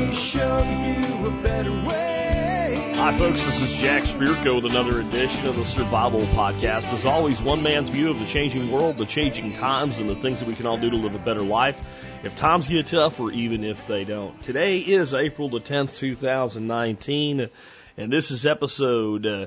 show you a better way. Hi, folks. This is Jack Spirko with another edition of the Survival Podcast. As always, one man's view of the changing world, the changing times, and the things that we can all do to live a better life if times get tough or even if they don't. Today is April the 10th, 2019, and this is episode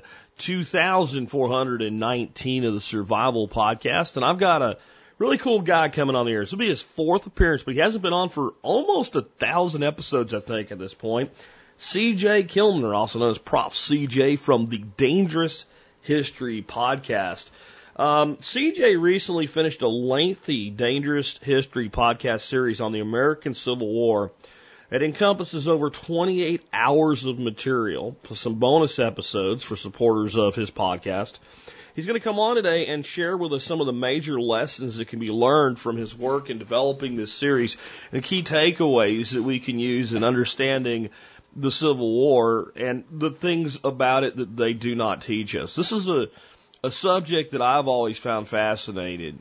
2419 of the Survival Podcast. And I've got a really cool guy coming on the air. This will be his fourth appearance, but he hasn't been on for almost 1,000 episodes, I think, at this point. CJ Kilmer, also known as Prof. CJ from the Dangerous History Podcast. CJ recently finished a lengthy Dangerous History podcast series on the American Civil War. It encompasses over 28 hours of material, plus some bonus episodes for supporters of his podcast. He's going to come on today and share with us some of the major lessons that can be learned from his work in developing this series and key takeaways that we can use in understanding the Civil War and the things about it that they do not teach us. This is a subject that I've always found fascinating.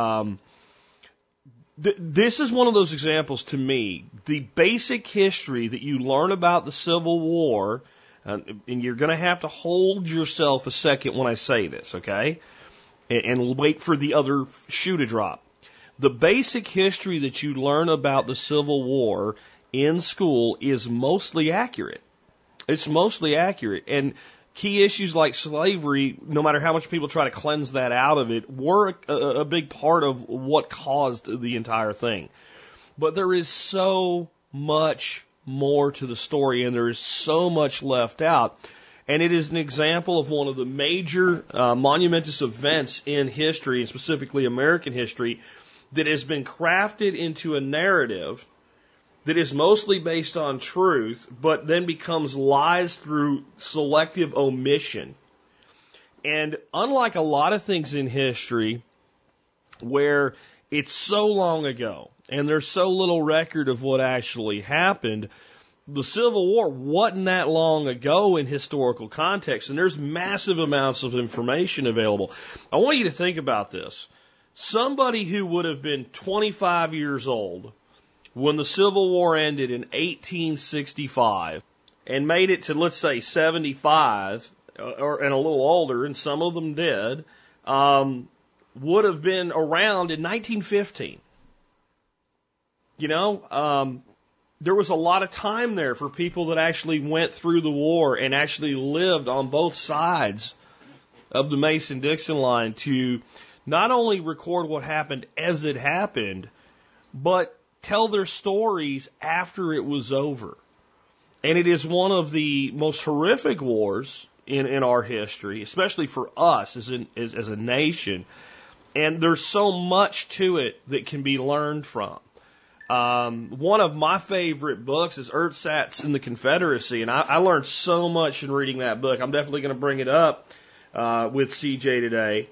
This is one of those examples to me. The basic history that you learn about the Civil War, and you're going to have to hold yourself a second when I say this, okay? And wait for the other shoe to drop. The basic history that you learn about the Civil War in school is mostly accurate. It's mostly accurate. And key issues like slavery, no matter how much people try to cleanse that out of it, were a big part of what caused the entire thing. But there is so much more to the story, and there is so much left out. And it is an example of one of the major monumentous events in history, and specifically American history, that has been crafted into a narrative that is mostly based on truth, but then becomes lies through selective omission. And unlike a lot of things in history, where it's so long ago, and there's so little record of what actually happened, the Civil War wasn't that long ago in historical context, and there's massive amounts of information available. I want you to think about this. Somebody who would have been 25 years old when the Civil War ended in 1865 and made it to, let's say, 75 and a little older, and some of them did, would have been around in 1915. You know, there was a lot of time there for people that actually went through the war and actually lived on both sides of the Mason-Dixon line to not only record what happened as it happened, but tell their stories after it was over. And it is one of the most horrific wars in our history, especially for us as a nation. And there's so much to it that can be learned from. One of my favorite books is Ersatz in the Confederacy, and I learned so much in reading that book. I'm definitely going to bring it up with CJ today.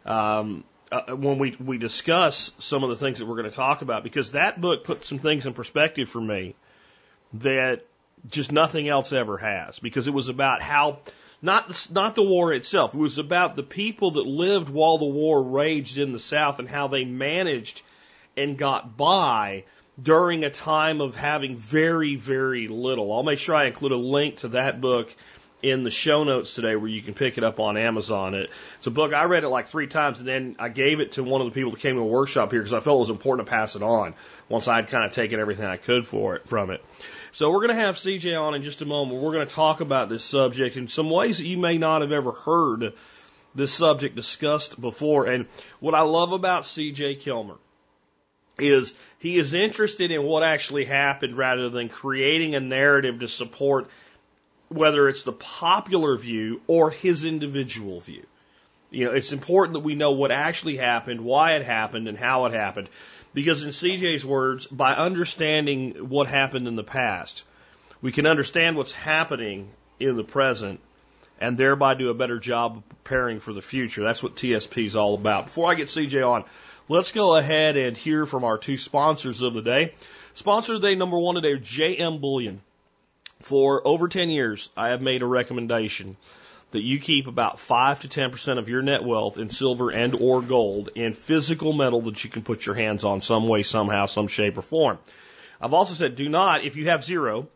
When we discuss some of the things that we're going to talk about, because that book put some things in perspective for me that just nothing else ever has, because it was about how, not the war itself, it was about the people that lived while the war raged in the South and how they managed and got by during a time of having very, very little. I'll make sure I include a link to that book in the show notes today where you can pick it up on Amazon. It's a book, I read it like 3 times, and then I gave it to one of the people that came to a workshop here because I felt it was important to pass it on once I'd kind of taken everything I could from it. So we're going to have CJ on in just a moment. We're going to talk about this subject in some ways that you may not have ever heard this subject discussed before. And what I love about CJ Kilmer is he is interested in what actually happened rather than creating a narrative to support whether it's the popular view or his individual view. You know, it's important that we know what actually happened, why it happened, and how it happened. Because in CJ's words, by understanding what happened in the past, we can understand what's happening in the present and thereby do a better job of preparing for the future. That's what TSP is all about. Before I get CJ on, let's go ahead and hear from our 2 sponsors of the day. Sponsor of the day number 1 today, JM Bullion. For over 10 years, I have made a recommendation that you keep about 5 to 10% of your net wealth in silver and or gold in physical metal that you can put your hands on some way, somehow, some shape or form. I've also said do not, if you have zero,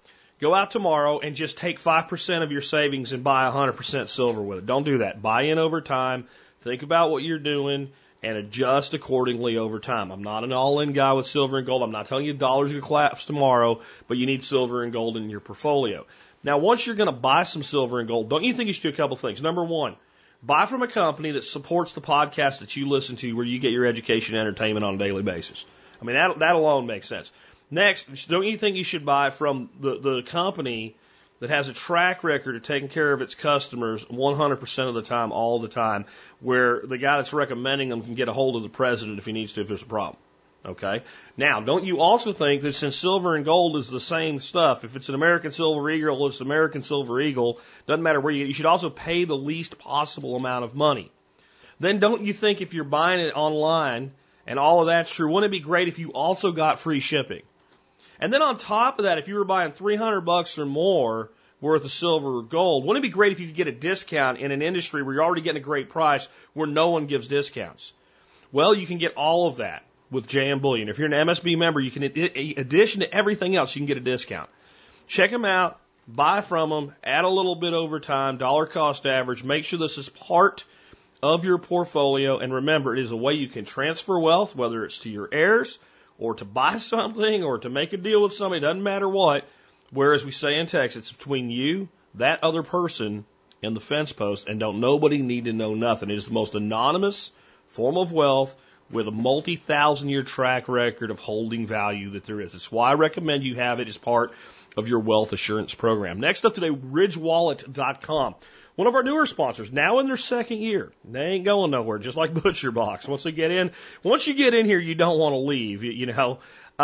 Go out tomorrow and just take 5% of your savings and buy 100% silver with it. Don't do that. Buy in over time. Think about what you're doing and adjust accordingly over time. I'm not an all-in guy with silver and gold. I'm not telling you the dollar's going to collapse tomorrow, but you need silver and gold in your portfolio. Now, once you're going to buy some silver and gold, don't you think you should do a couple things? Number one, buy from a company that supports the podcast that you listen to where you get your education and entertainment on a daily basis. I mean, that alone makes sense. Next, don't you think you should buy from the company that has a track record of taking care of its customers 100% of the time, all the time, where the guy that's recommending them can get a hold of the president if he needs to, if there's a problem? Okay? Now, don't you also think that since silver and gold is the same stuff, if it's an American Silver Eagle, it's American Silver Eagle, doesn't matter where you should also pay the least possible amount of money. Then don't you think if you're buying it online and all of that's true, wouldn't it be great if you also got free shipping? And then on top of that, if you were buying $300 or more worth of silver or gold, wouldn't it be great if you could get a discount in an industry where you're already getting a great price where no one gives discounts? Well, you can get all of that with JM Bullion. If you're an MSB member, you can, in addition to everything else, you can get a discount. Check them out, buy from them, add a little bit over time, dollar cost average. Make sure this is part of your portfolio. And remember, it is a way you can transfer wealth, whether it's to your heirs or to buy something or to make a deal with somebody, doesn't matter what. Whereas we say in Texas, it's between you, that other person, and the fence post, and don't nobody need to know nothing. It is the most anonymous form of wealth with a multi-thousand-year track record of holding value that there is. It's why I recommend you have it as part of your wealth assurance program. Next up today, RidgeWallet.com. One of our newer sponsors, now in their second year. They ain't going nowhere, just like ButcherBox. Once you get in here, you don't want to leave, you know.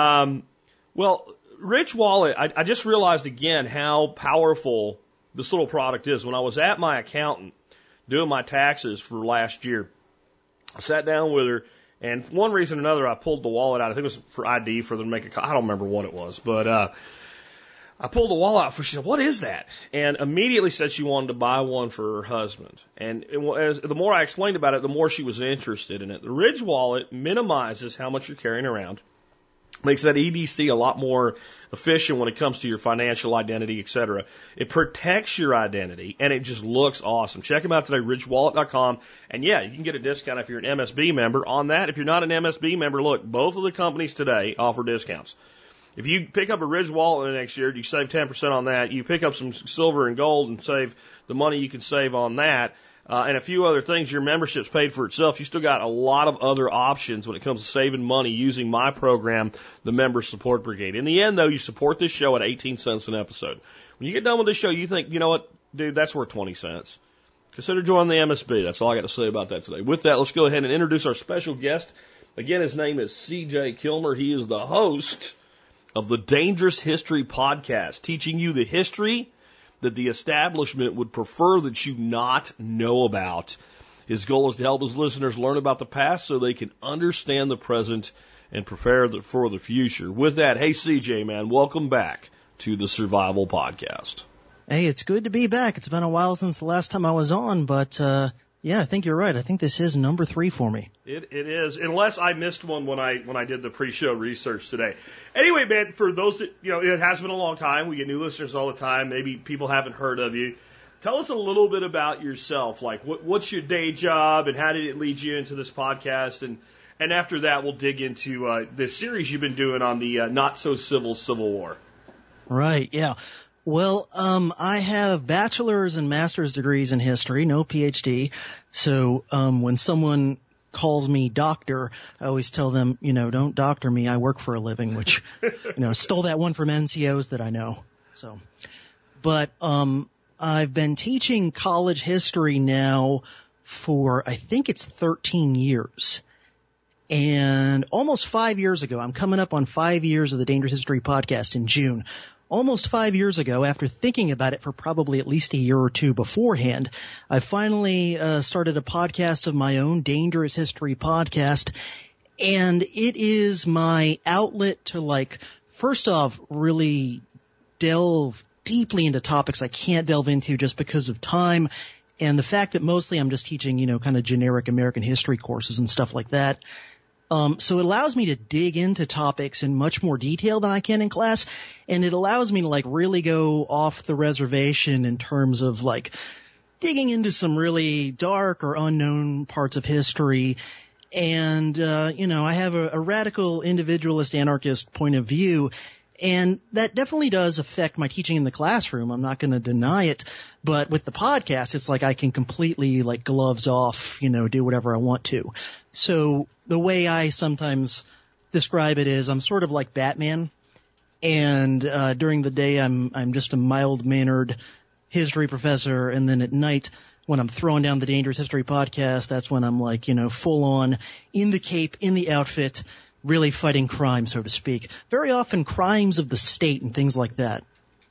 Well, Ridge Wallet, I just realized again how powerful this little product is. When I was at my accountant doing my taxes for last year, I sat down with her, and for one reason or another, I pulled the wallet out. I think it was for ID, for them to make a call. I don't remember what it was, but I pulled the wallet out for her. She said, "What is that?" And immediately said she wanted to buy one for her husband. And the more I explained about it, the more she was interested in it. The Ridge Wallet minimizes how much you're carrying around, makes that EDC a lot more efficient when it comes to your financial identity, etc. It protects your identity, and it just looks awesome. Check them out today, RidgeWallet.com. And yeah, you can get a discount if you're an MSB member on that. If you're not an MSB member, look, both of the companies today offer discounts. If you pick up a Ridge Wallet next year, you save 10% on that. You pick up some silver and gold and save the money you can save on that. And a few other things, your membership's paid for itself. You still got a lot of other options when it comes to saving money using my program, the Member Support Brigade. In the end, though, you support this show at 18 cents an episode. When you get done with this show, you think, you know what, dude, that's worth 20 cents. Consider joining the MSB. That's all I got to say about that today. With that, let's go ahead and introduce our special guest. Again, his name is C.J. Kilmer. He is the host of the Dangerous History Podcast, teaching you the history that the establishment would prefer that you not know about. His goal is to help his listeners learn about the past so they can understand the present and prepare for the future. With that, hey, CJ, man, welcome back to the Survival Podcast. Hey, it's good to be back. It's been a while since the last time I was on, but yeah, I think you're right. I think this is number 3 for me. It is, unless I missed one when I did the pre-show research today. Anyway, man, for those that, you know, it has been a long time. We get new listeners all the time. Maybe people haven't heard of you. Tell us a little bit about yourself. Like, what's your day job, and how did it lead you into this podcast? And after that, we'll dig into the series you've been doing on the not-so-civil Civil War. Right, yeah. Well, I have bachelor's and master's degrees in history, no PhD. So when someone calls me doctor, I always tell them, you know, don't doctor me. I work for a living, which, you know, stole that one from NCOs that I know. So, but I've been teaching college history now for, I think it's 13 years. And almost 5 years ago, I'm coming up on 5 years of the Dangerous History Podcast in June. Almost 5 years ago, after thinking about it for probably at least a year or two beforehand, I finally started a podcast of my own, Dangerous History Podcast, and it is my outlet to, like, first off, really delve deeply into topics I can't delve into just because of time, and the fact that mostly I'm just teaching, you know, kind of generic American history courses and stuff like that. So it allows me to dig into topics in much more detail than I can in class. And it allows me to like really go off the reservation in terms of like digging into some really dark or unknown parts of history. And, I have a radical individualist anarchist point of view. And that definitely does affect my teaching in the classroom. I'm not going to deny it. But with the podcast, it's like I can completely like gloves off, do whatever I want to. So the way I sometimes describe it is I'm sort of like Batman. And during the day, I'm just a mild-mannered history professor. And then at night, when I'm throwing down the Dangerous History podcast, that's when I'm like, full on in the cape, in the outfit, really fighting crime, so to speak. Very often crimes of the state and things like that.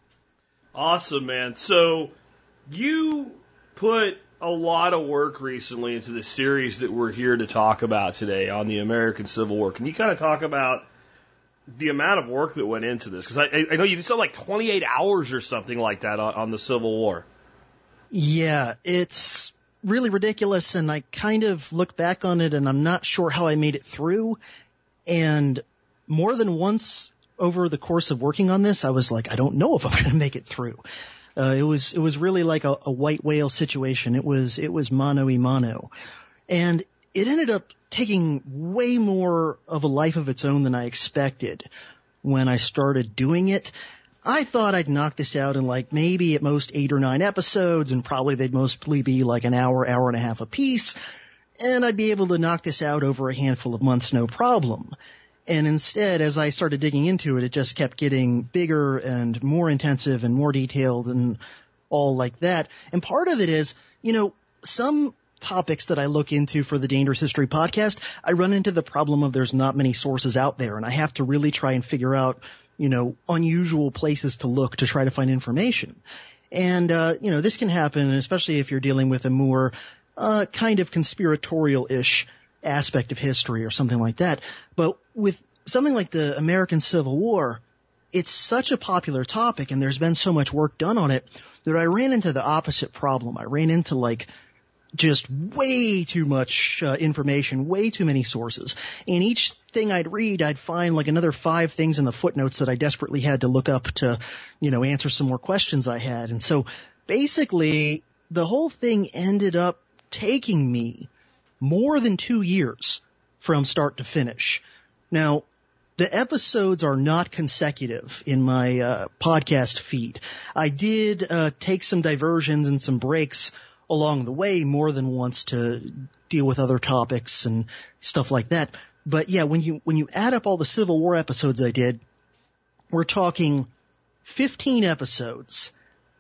Awesome, man. So you put a lot of work recently into the series that we're here to talk about today on the American Civil War. Can you kind of talk about the amount of work that went into this? Because I know you did something like 28 hours or something like that on the Civil War. Yeah, it's really ridiculous, and I kind of look back on it, and I'm not sure how I made it through. And more than once over the course of working on this, I was like, I don't know if I'm going to make it through. It was really like a white whale situation. It was mano y mano. And it ended up taking way more of a life of its own than I expected when I started doing it. I thought I'd knock this out in like maybe at most 8 or 9 episodes, and probably they'd mostly be like an hour and a half apiece. And I'd be able to knock this out over a handful of months, no problem. And instead, as I started digging into it, it just kept getting bigger and more intensive and more detailed and all like that. And part of it is, some topics that I look into for the Dangerous History podcast, I run into the problem of there's not many sources out there, and I have to really try and figure out, unusual places to look to try to find information. And, this can happen, especially if you're dealing with a more kind of conspiratorial-ish aspect of history or something like that. But with something like the American Civil War, it's such a popular topic and there's been so much work done on it that I ran into the opposite problem. I ran into like just way too much information, way too many sources. And each thing I'd read, I'd find like another 5 things in the footnotes that I desperately had to look up to, answer some more questions I had. And so basically the whole thing ended up taking me more than 2 years from start to finish. Now, the episodes are not consecutive in my podcast feed. I did take some diversions and some breaks along the way more than once to deal with other topics and stuff like that. But yeah, when you add up all the Civil War episodes I did, we're talking 15 episodes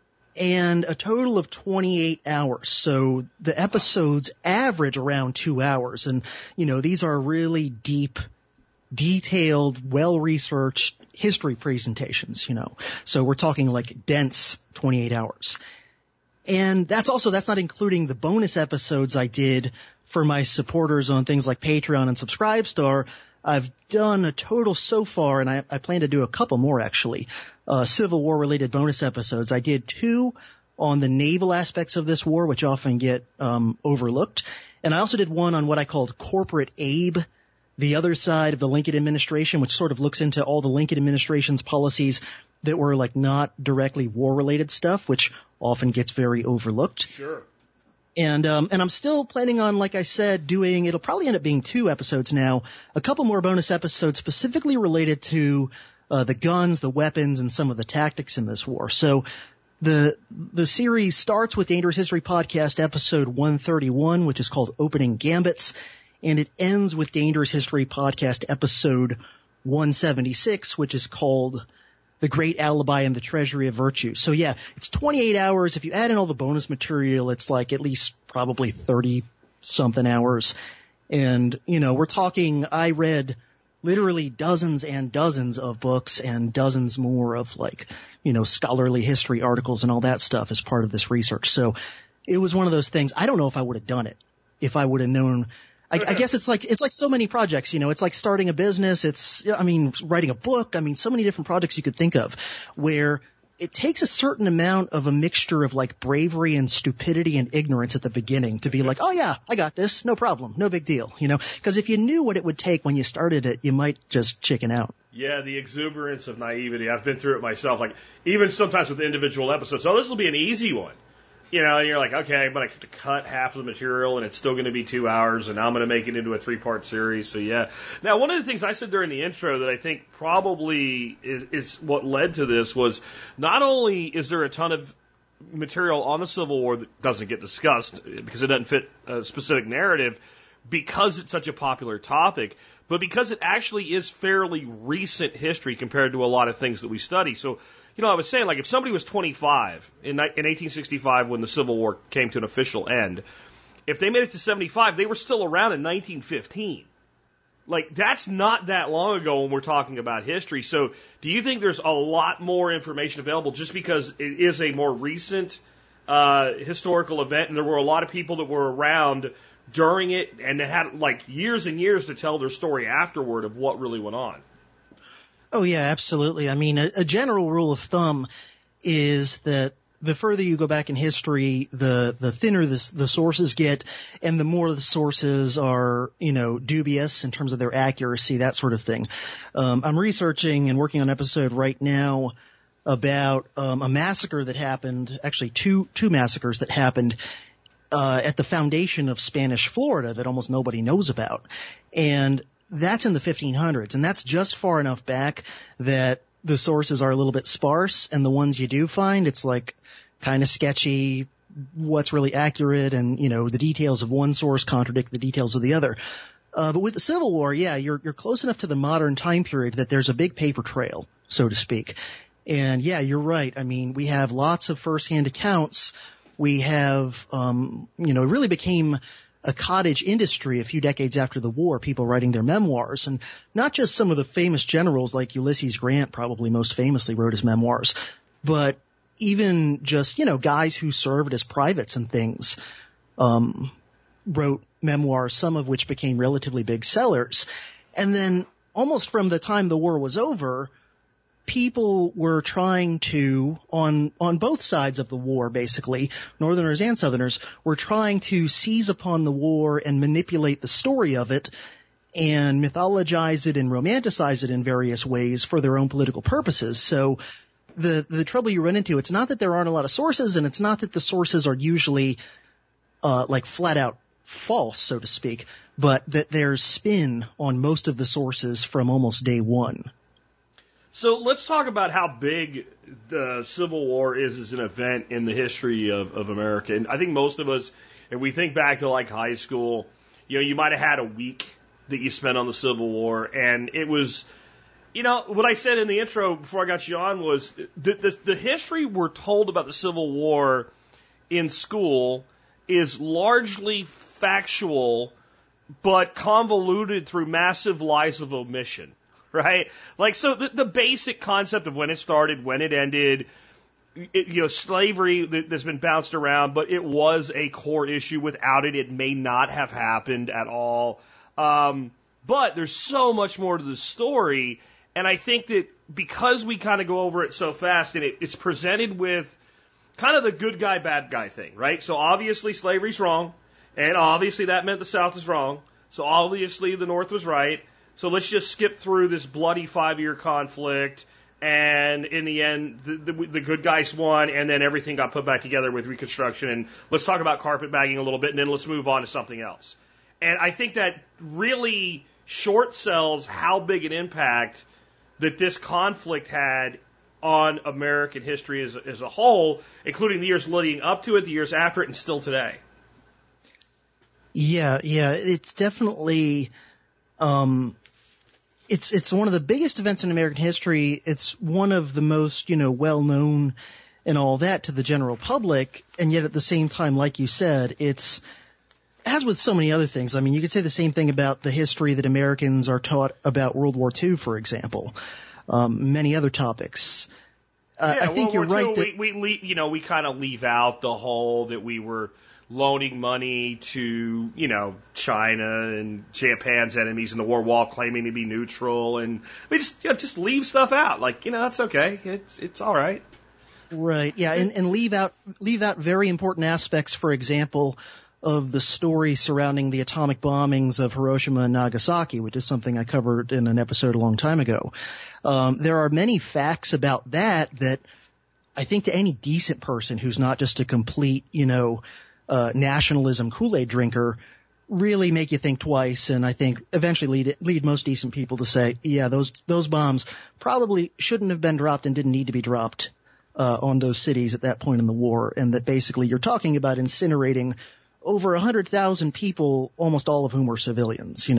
and a total of 28 hours. So the episodes average around 2 hours. And, these are really deep, detailed, well-researched history presentations, So we're talking like dense 28 hours. And that's not including the bonus episodes I did for my supporters on things like Patreon and Subscribestar. I've done a total so far, and I plan to do a couple more actually, Civil War related bonus episodes. I did 2 on the naval aspects of this war, which often get overlooked. And I also did one on what I called Corporate Abe, the other side of the Lincoln administration, which sort of looks into all the Lincoln administration's policies that were like not directly war related stuff, which often gets very overlooked. Sure. And I'm still planning on, like I said, it'll probably end up being 2 episodes now, a couple more bonus episodes specifically related to the guns, the weapons, and some of the tactics in this war. So the series starts with Dangerous History Podcast episode 131, which is called Opening Gambits, and it ends with Dangerous History Podcast episode 176, which is called The Great Alibi and the Treasury of Virtue. So yeah, it's 28 hours. If you add in all the bonus material, it's like at least probably 30-something hours. And, we're talking, I read literally dozens and dozens of books and dozens more of like, scholarly history articles and all that stuff as part of this research. So it was one of those things. I don't know if I would have done it if I would have known. I guess it's like so many projects, it's like starting a business. Writing a book. So many different projects you could think of where it takes a certain amount of a mixture of like bravery and stupidity and ignorance at the beginning to be like, oh yeah, I got this, no problem, no big deal, you know, because if you knew what it would take when you started it, you might just chicken out. Yeah, the exuberance of naivety. I've been through it myself. Like, even sometimes with individual episodes, oh, this will be an easy one. You know, and you're like, okay, I'm going to cut half of the material and it's still going to be 2 hours and now I'm going to make it into a 3-part series. So yeah. Now, one of the things I said during the intro that I think probably is what led to this was not only is there a ton of material on the Civil War that doesn't get discussed because it doesn't fit a specific narrative because it's such a popular topic, but because it actually is fairly recent history compared to a lot of things that we study. So, you know, I was saying, like, if somebody was 25 in 1865 when the Civil War came to an official end, if they made it to 75, they were still around in 1915. Like, that's not that long ago when we're talking about history. So do you think there's a lot more information available just because it is a more recent historical event and there were a lot of people that were around during it and they had, like, years and years to tell their story afterward of what really went on? Oh, yeah, absolutely. I mean, a general rule of thumb is that the further you go back in history, the thinner the sources get, and the more the sources are, you know, dubious in terms of their accuracy, that sort of thing. I'm researching and working on an episode right now about a massacre that happened, actually two massacres that happened at the foundation of Spanish Florida that almost nobody knows about. And that's in the 1500s, and that's just far enough back that the sources are a little bit sparse, and the ones you do find, it's like kind of sketchy, what's really accurate, and, you know, the details of one source contradict the details of the other. But with the Civil War, yeah, you're close enough to the modern time period that there's a big paper trail, so to speak. And yeah, you're right. I mean, we have lots of first-hand accounts. We have, you know, it really became a cottage industry a few decades after the war, people writing their memoirs, and not just some of the famous generals like Ulysses Grant probably most famously wrote his memoirs, but even just, you know, guys who served as privates and things, wrote memoirs, some of which became relatively big sellers. And then almost from the time the war was over, people were trying to, on both sides of the war, basically, Northerners and Southerners, were trying to seize upon the war and manipulate the story of it and mythologize it and romanticize it in various ways for their own political purposes. So the trouble you run into, it's not that there aren't a lot of sources, and it's not that the sources are usually like flat out false, so to speak, but that there's spin on most of the sources from almost day one. So let's talk about how big the Civil War is as an event in the history of America. And I think most of us, if we think back to like high school, you know, you might have had a week that you spent on the Civil War. And it was, you know, what I said in the intro before I got you on was the history we're told about the Civil War in school is largely factual, but convoluted through massive lies of omission. Right? Like, so the basic concept of when it started, when it ended, you know, slavery that's been bounced around, but it was a core issue. Without it, it may not have happened at all. But there's so much more to the story. And I think that because we kind of go over it so fast and it's presented with kind of the good guy, bad guy thing, right? So obviously slavery's wrong. And obviously that meant the South was wrong. So obviously the North was right. So let's just skip through this bloody 5-year conflict, and in the end, the good guys won, and then everything got put back together with Reconstruction, and let's talk about carpetbagging a little bit, and then let's move on to something else. And I think that really short sells how big an impact that this conflict had on American history as a whole, including the years leading up to it, the years after it, and still today. Yeah, it's definitely... It's one of the biggest events in American history. It's one of the most, you know, well-known and all that to the general public. And yet at the same time, like you said, it's, as with so many other things, I mean, you could say the same thing about the history that Americans are taught about World War II, for example. Many other topics. I think you're right. We kind of leave out the whole that we were loaning money to, you know, China and Japan's enemies in the war while claiming to be neutral, and we just leave stuff out. Like, you know, that's okay. It's all right. Right. Yeah. And leave out very important aspects, for example, of the story surrounding the atomic bombings of Hiroshima and Nagasaki, which is something I covered in an episode a long time ago. There are many facts about that I think to any decent person who's not just a complete, nationalism Kool-Aid drinker really make you think twice, and I think eventually lead most decent people to say, yeah, those bombs probably shouldn't have been dropped and didn't need to be dropped on those cities at that point in the war, and that basically you're talking about incinerating over 100,000 people, almost all of whom were civilians,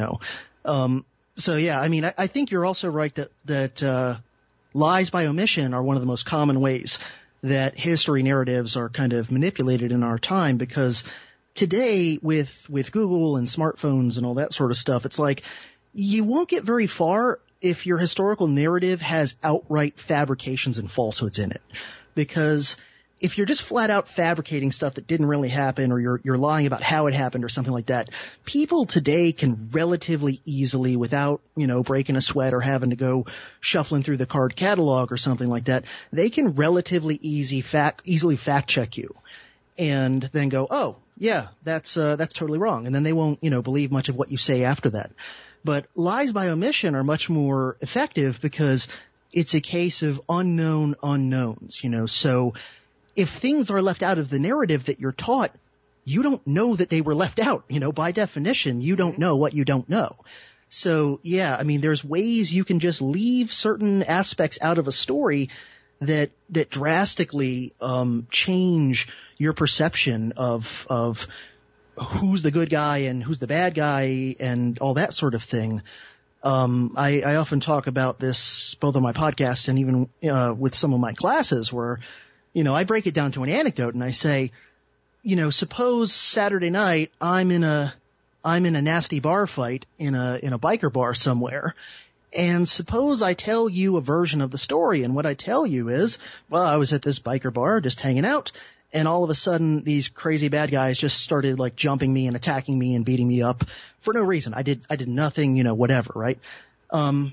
So yeah, I mean, I think you're also right that lies by omission are one of the most common ways that history narratives are kind of manipulated in our time, because today with Google and smartphones and all that sort of stuff, it's like you won't get very far if your historical narrative has outright fabrications and falsehoods in it. Because if you're just flat out fabricating stuff that didn't really happen, or you're lying about how it happened or something like that, people today can relatively easily, without, breaking a sweat or having to go shuffling through the card catalog or something like that, they can relatively easily fact check you and then go, oh, yeah, that's totally wrong. And then they won't, believe much of what you say after that. But lies by omission are much more effective because it's a case of unknown unknowns, So if things are left out of the narrative that you're taught, you don't know that they were left out. By definition, you don't know what you don't know. So yeah, I mean, there's ways you can just leave certain aspects out of a story that drastically change your perception of who's the good guy and who's the bad guy and all that sort of thing. I often talk about this both on my podcast and even with some of my classes where, I break it down to an anecdote and I say, suppose Saturday night I'm in a nasty bar fight in a biker bar somewhere. And suppose I tell you a version of the story, and what I tell you is, well, I was at this biker bar just hanging out, and all of a sudden these crazy bad guys just started like jumping me and attacking me and beating me up for no reason. I did nothing, whatever, right? And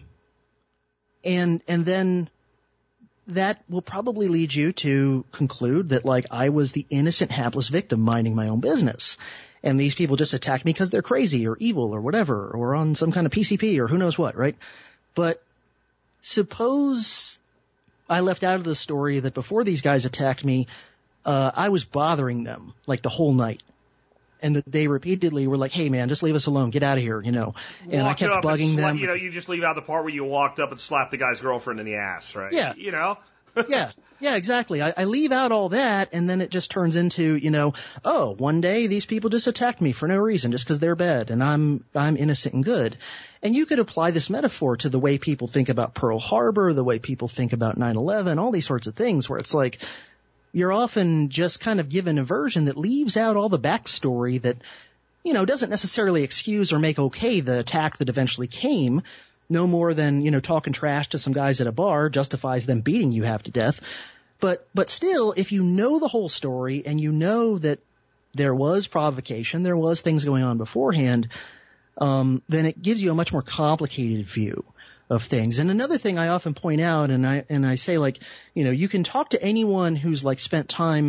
then that will probably lead you to conclude that like I was the innocent, hapless victim minding my own business. And these people just attacked me because they're crazy or evil or whatever, or on some kind of PCP or who knows what, right? But suppose I left out of the story that before these guys attacked me, I was bothering them like the whole night. And that they repeatedly were like, hey man, just leave us alone, get out of here, And I kept bugging them. You just leave out the part where you walked up and slapped the guy's girlfriend in the ass, right? Yeah. Yeah, exactly. I leave out all that, and then it just turns into, oh, one day these people just attacked me for no reason, just because they're bad, and I'm innocent and good. And you could apply this metaphor to the way people think about Pearl Harbor, the way people think about 9/11, all these sorts of things, where it's like you're often just kind of given a version that leaves out all the backstory that, doesn't necessarily excuse or make okay the attack that eventually came. No more than, talking trash to some guys at a bar justifies them beating you half to death. But still, if you know the whole story and you know that there was provocation, there was things going on beforehand, then it gives you a much more complicated view of things. And another thing I often point out, and I say like, you can talk to anyone who's like spent time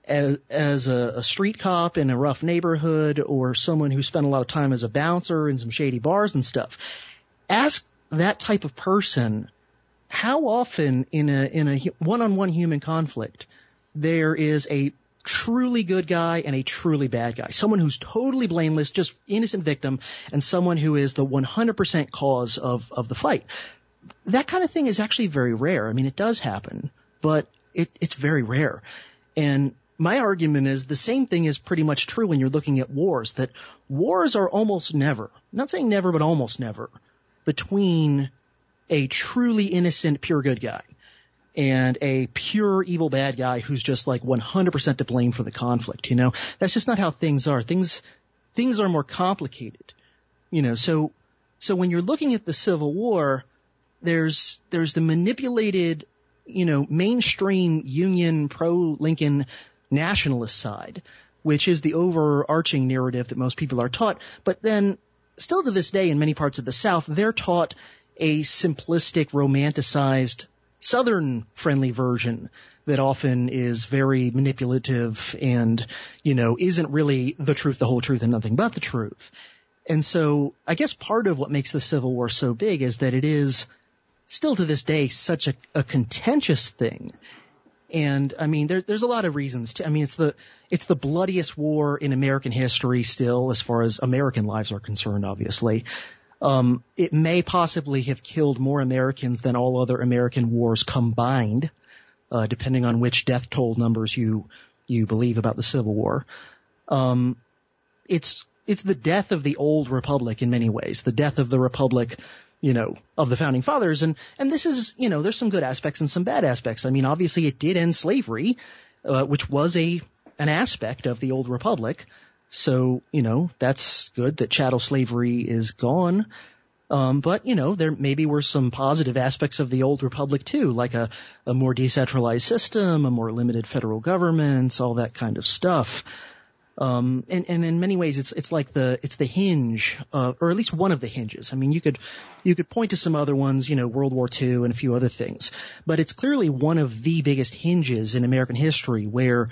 as a street cop in a rough neighborhood, or someone who spent a lot of time as a bouncer in some shady bars and stuff. Ask that type of person how often in a one-on-one human conflict there is a truly good guy and a truly bad guy, someone who's totally blameless, just innocent victim, and someone who is the 100% cause of the fight. That kind of thing is actually very rare. I mean, it does happen, but it's very rare. And my argument is the same thing is pretty much true when you're looking at wars, that wars are almost never, I'm not saying never, but almost never, between a truly innocent, pure good guy and a pure evil bad guy who's just like 100% to blame for the conflict. That's just not how things are. Things are more complicated. So when you're looking at the Civil War, there's the manipulated, mainstream Union pro-Lincoln nationalist side, which is the overarching narrative that most people are taught. But then still to this day in many parts of the South, they're taught a simplistic, romanticized Southern friendly version that often is very manipulative and, isn't really the truth, the whole truth, and nothing but the truth. And so I guess part of what makes the Civil War so big is that it is still to this day such a contentious thing. And I mean, there's a lot of reasons to, I mean, it's the bloodiest war in American history still, as far as American lives are concerned, obviously. It may possibly have killed more Americans than all other American wars combined, depending on which death toll numbers you believe about the Civil War. It's the death of the old republic in many ways, the death of the republic, of the founding fathers. And this is, there's some good aspects and some bad aspects. I mean, obviously it did end slavery, which was an aspect of the old republic. So, that's good that chattel slavery is gone. But, there maybe were some positive aspects of the old republic too, like a more decentralized system, a more limited federal government, all that kind of stuff. And in many ways it's like it's the hinge, or at least one of the hinges. I mean, you could point to some other ones, World War II and a few other things, but it's clearly one of the biggest hinges in American history where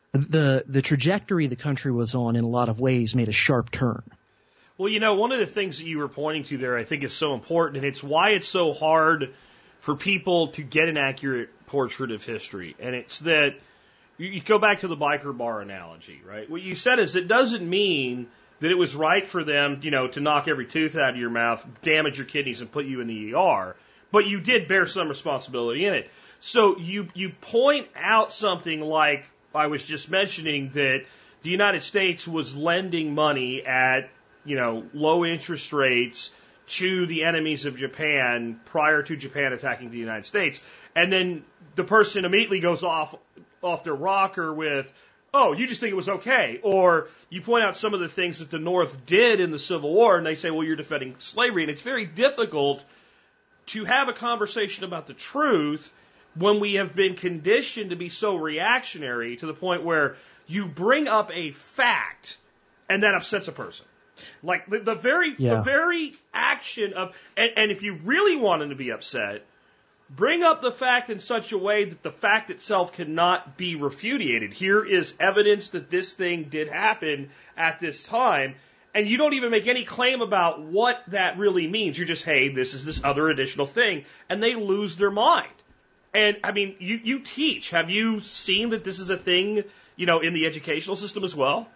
the trajectory the country was on in a lot of ways made a sharp turn. Well, one of the things that you were pointing to there I think is so important, and it's why it's so hard for people to get an accurate portrait of history. And it's that you go back to the biker bar analogy, right? What you said is it doesn't mean that it was right for them, to knock every tooth out of your mouth, damage your kidneys, and put you in the ER. But you did bear some responsibility in it. So you point out something like I was just mentioning, that the United States was lending money at, low interest rates to the enemies of Japan prior to Japan attacking the United States. And then the person immediately goes off their rocker with, oh, you just think it was okay. Or you point out some of the things that the North did in the Civil War, and they say, well, you're defending slavery. And it's very difficult to have a conversation about the truth when we have been conditioned to be so reactionary to the point where you bring up a fact and that upsets a person. Like the very action of, and if you really want them to be upset, bring up the fact in such a way that the fact itself cannot be refuted. Here is evidence that this thing did happen at this time, and you don't even make any claim about what that really means. You're just, hey, this is this other additional thing, and they lose their mind. And, I mean, you teach. Have you seen that this is a thing, in the educational system as well?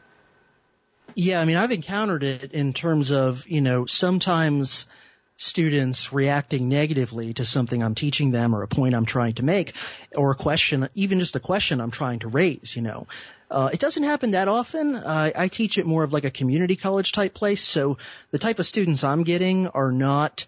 Yeah, I mean, I've encountered it in terms of, sometimes students reacting negatively to something I'm teaching them or a point I'm trying to make or a question, even just a question I'm trying to raise, It doesn't happen that often. I teach it more of like a community college type place. So the type of students I'm getting are not,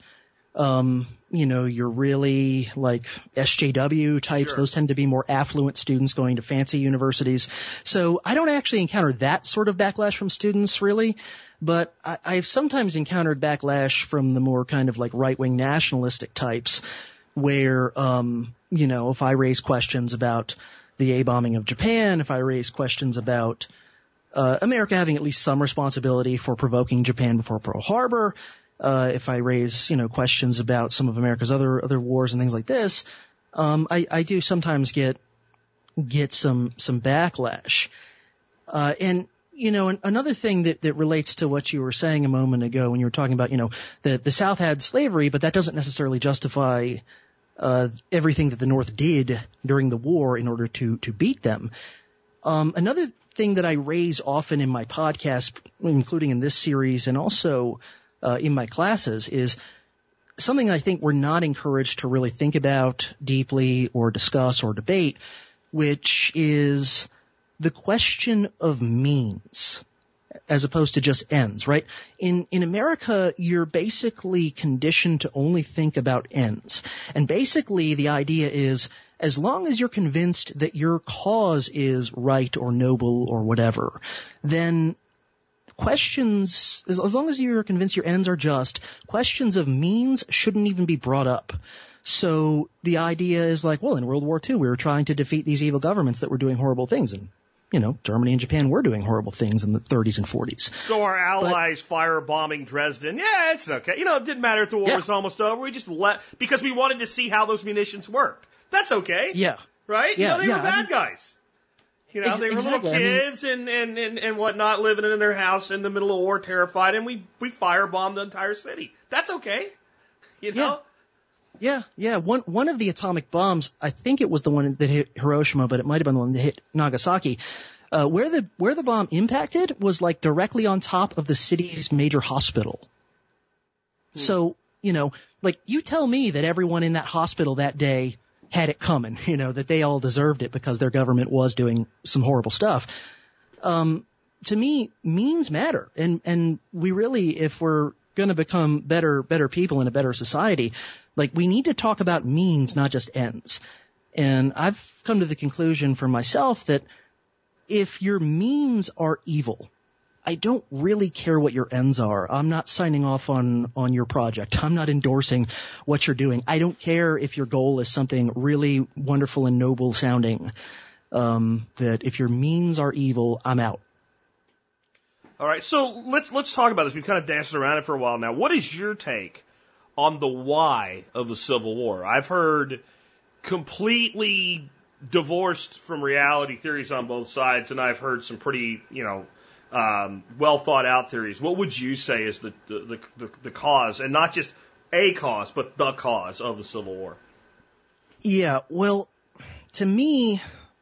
you're really like SJW types. Sure. Those tend to be more affluent students going to fancy universities. So I don't actually encounter that sort of backlash from students really, but I've sometimes encountered backlash from the more kind of like right-wing nationalistic types where, if I raise questions about the A-bombing of Japan, if I raise questions about America having at least some responsibility for provoking Japan before Pearl Harbor, if I raise, questions about some of America's other wars and things like this, I do sometimes get some backlash. And another thing that relates to what you were saying a moment ago when you were talking about, the South had slavery, but that doesn't necessarily justify everything that the North did during the war in order to beat them. Another thing that I raise often in my podcast, including in this series and also in my classes, is something I think we're not encouraged to really think about deeply or discuss or debate, which is the question of means as opposed to just ends, right? In America, you're basically conditioned to only think about ends. And basically the idea is as long as you're convinced that your cause is right or noble or whatever, then questions, as long as you're convinced your ends are just, questions of means shouldn't even be brought up. So the idea is like, well, in World War II, we were trying to defeat these evil governments that were doing horrible things. And, Germany and Japan were doing horrible things in the 30s and 40s. So our allies firebombing Dresden, yeah, it's okay. It didn't matter if the war was almost over. We just because we wanted to see how those munitions worked. That's okay. Yeah. Right? Yeah, they were bad guys. They were little kids and whatnot living in their house in the middle of war, terrified, and we firebombed the entire city. That's okay. Yeah. One of the atomic bombs, I think it was the one that hit Hiroshima, but it might have been the one that hit Nagasaki. Where the bomb impacted was like directly on top of the city's major hospital. So, like you tell me that everyone in that hospital that day had it coming, that they all deserved it because their government was doing some horrible stuff. To me, means matter. And we really, if we're going to become better people in a better society, like we need to talk about means, not just ends. And I've come to the conclusion for myself that if your means are evil, I don't really care what your ends are. I'm not signing off on your project. I'm not endorsing what you're doing. I don't care if your goal is something really wonderful and noble sounding. That if your means are evil, I'm out. All right, so let's talk about this. We've kind of danced around it for a while now. What is your take on the why of the Civil War? I've heard completely divorced from reality theories on both sides, and I've heard some pretty, well thought out theories. What would you say is the cause, and not just a cause, but the cause of the Civil War? Yeah, well, to me,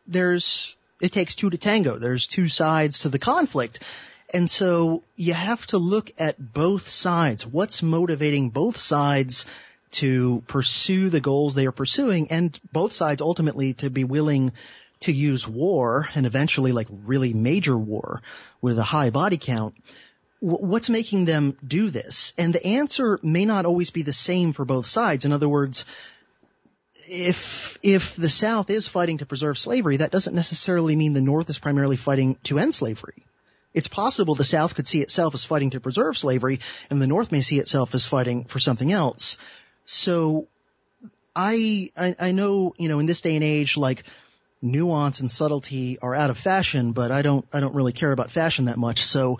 it takes two to tango. There's two sides to the conflict. And so you have to look at both sides. What's motivating both sides to pursue the goals they are pursuing, and both sides ultimately to be willing to use war, and eventually like really major war with a high body count. What's making them do this? And the answer may not always be the same for both sides. In other words, if the South is fighting to preserve slavery, that doesn't necessarily mean the North is primarily fighting to end slavery. It's possible the South could see itself as fighting to preserve slavery, and the North may see itself as fighting for something else. So I know, in this day and age, like nuance and subtlety are out of fashion, but I don't really care about fashion that much. So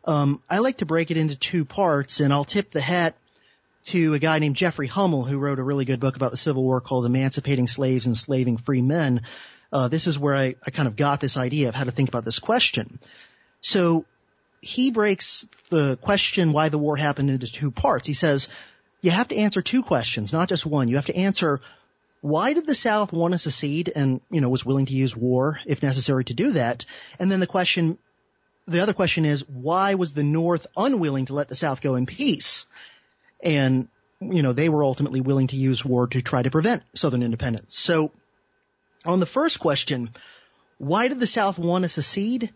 I like to break it into two parts, and I'll tip the hat to a guy named Jeffrey Hummel, who wrote a really good book about the Civil War called Emancipating Slaves and Enslaving Free Men. This is where I kind of got this idea of how to think about this question. So he breaks the question why the war happened into two parts. He says you have to answer two questions, not just one. You have to answer, why did the South want to secede and, was willing to use war if necessary to do that? And then the other question is, why was the North unwilling to let the South go in peace? And, they were ultimately willing to use war to try to prevent Southern independence. So on the first question, why did the South want to secede?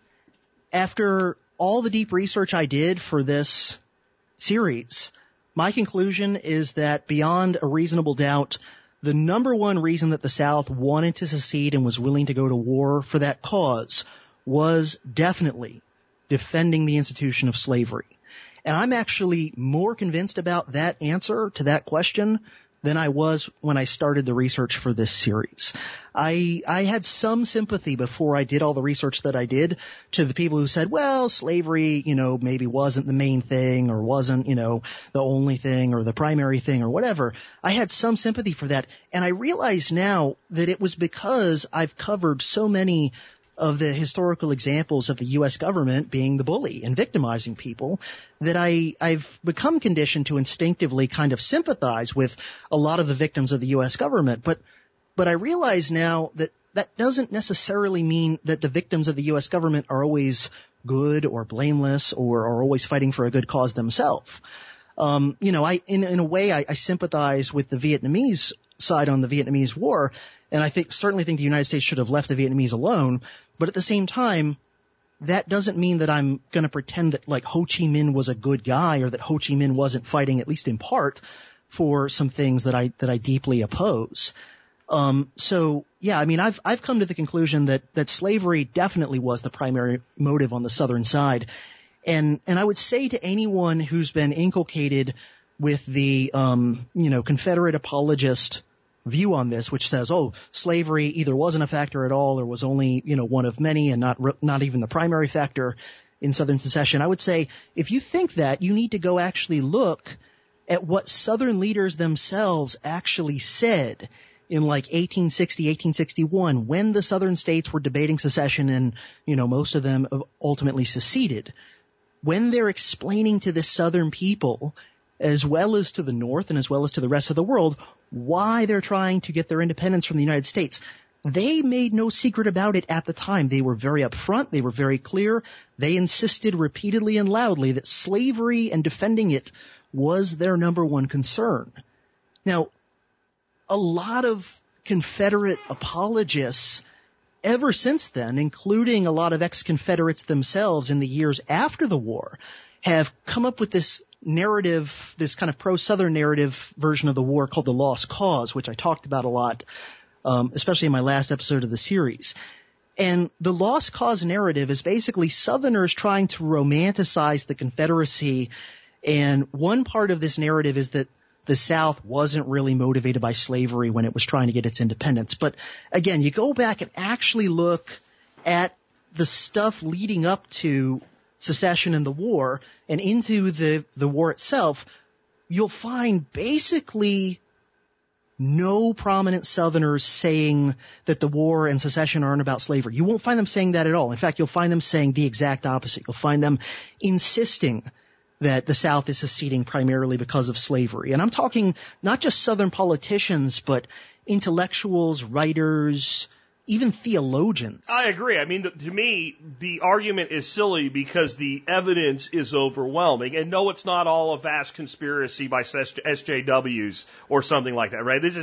After all the deep research I did for this series, my conclusion is that beyond a reasonable doubt, the number one reason that the South wanted to secede and was willing to go to war for that cause was definitely defending the institution of slavery. And I'm actually more convinced about that answer to that question than I was when I started the research for this series. I had some sympathy before I did all the research that I did to the people who said, well, slavery, maybe wasn't the main thing or wasn't, the only thing or the primary thing or whatever. I had some sympathy for that. And I realize now that it was because I've covered so many of the historical examples of the U.S. government being the bully and victimizing people that I've become conditioned to instinctively kind of sympathize with a lot of the victims of the U.S. government. But I realize now that that doesn't necessarily mean that the victims of the U.S. government are always good or blameless or are always fighting for a good cause themselves. In a way, I sympathize with the Vietnamese side on the Vietnamese War, and I certainly think the United States should have left the Vietnamese alone. But at the same time, that doesn't mean that I'm going to pretend that like Ho Chi Minh was a good guy or that Ho Chi Minh wasn't fighting, at least in part, for some things that I deeply oppose. So yeah, I've come to the conclusion that slavery definitely was the primary motive on the Southern side. And I would say to anyone who's been inculcated with the, Confederate apologist view on this, which says, oh, slavery either wasn't a factor at all or was only, one of many and not even the primary factor in Southern secession. I would say if you think that, you need to go actually look at what Southern leaders themselves actually said in like 1860, 1861, when the Southern states were debating secession and, most of them ultimately seceded. When they're explaining to the Southern people, as well as to the North and as well as to the rest of the world, why they're trying to get their independence from the United States, they made no secret about it at the time. They were very upfront. They were very clear. They insisted repeatedly and loudly that slavery and defending it was their number one concern. Now, a lot of Confederate apologists ever since then, including a lot of ex-Confederates themselves in the years after the war, have come up with this narrative, this kind of pro-Southern narrative version of the war called the Lost Cause, which I talked about a lot, especially in my last episode of the series. And the Lost Cause narrative is basically Southerners trying to romanticize the Confederacy. And one part of this narrative is that the South wasn't really motivated by slavery when it was trying to get its independence. But again, you go back and actually look at the stuff leading up to secession and the war and into the war itself, you'll find basically no prominent Southerners saying that the war and secession aren't about slavery. You won't find them saying that at all. In fact, you'll find them saying the exact opposite. You'll find them insisting that the South is seceding primarily because of slavery. And I'm talking not just Southern politicians, but intellectuals, writers, even theologians. I agree. I mean, to me, the argument is silly because the evidence is overwhelming. And no, it's not all a vast conspiracy by SJWs or something like that, right? This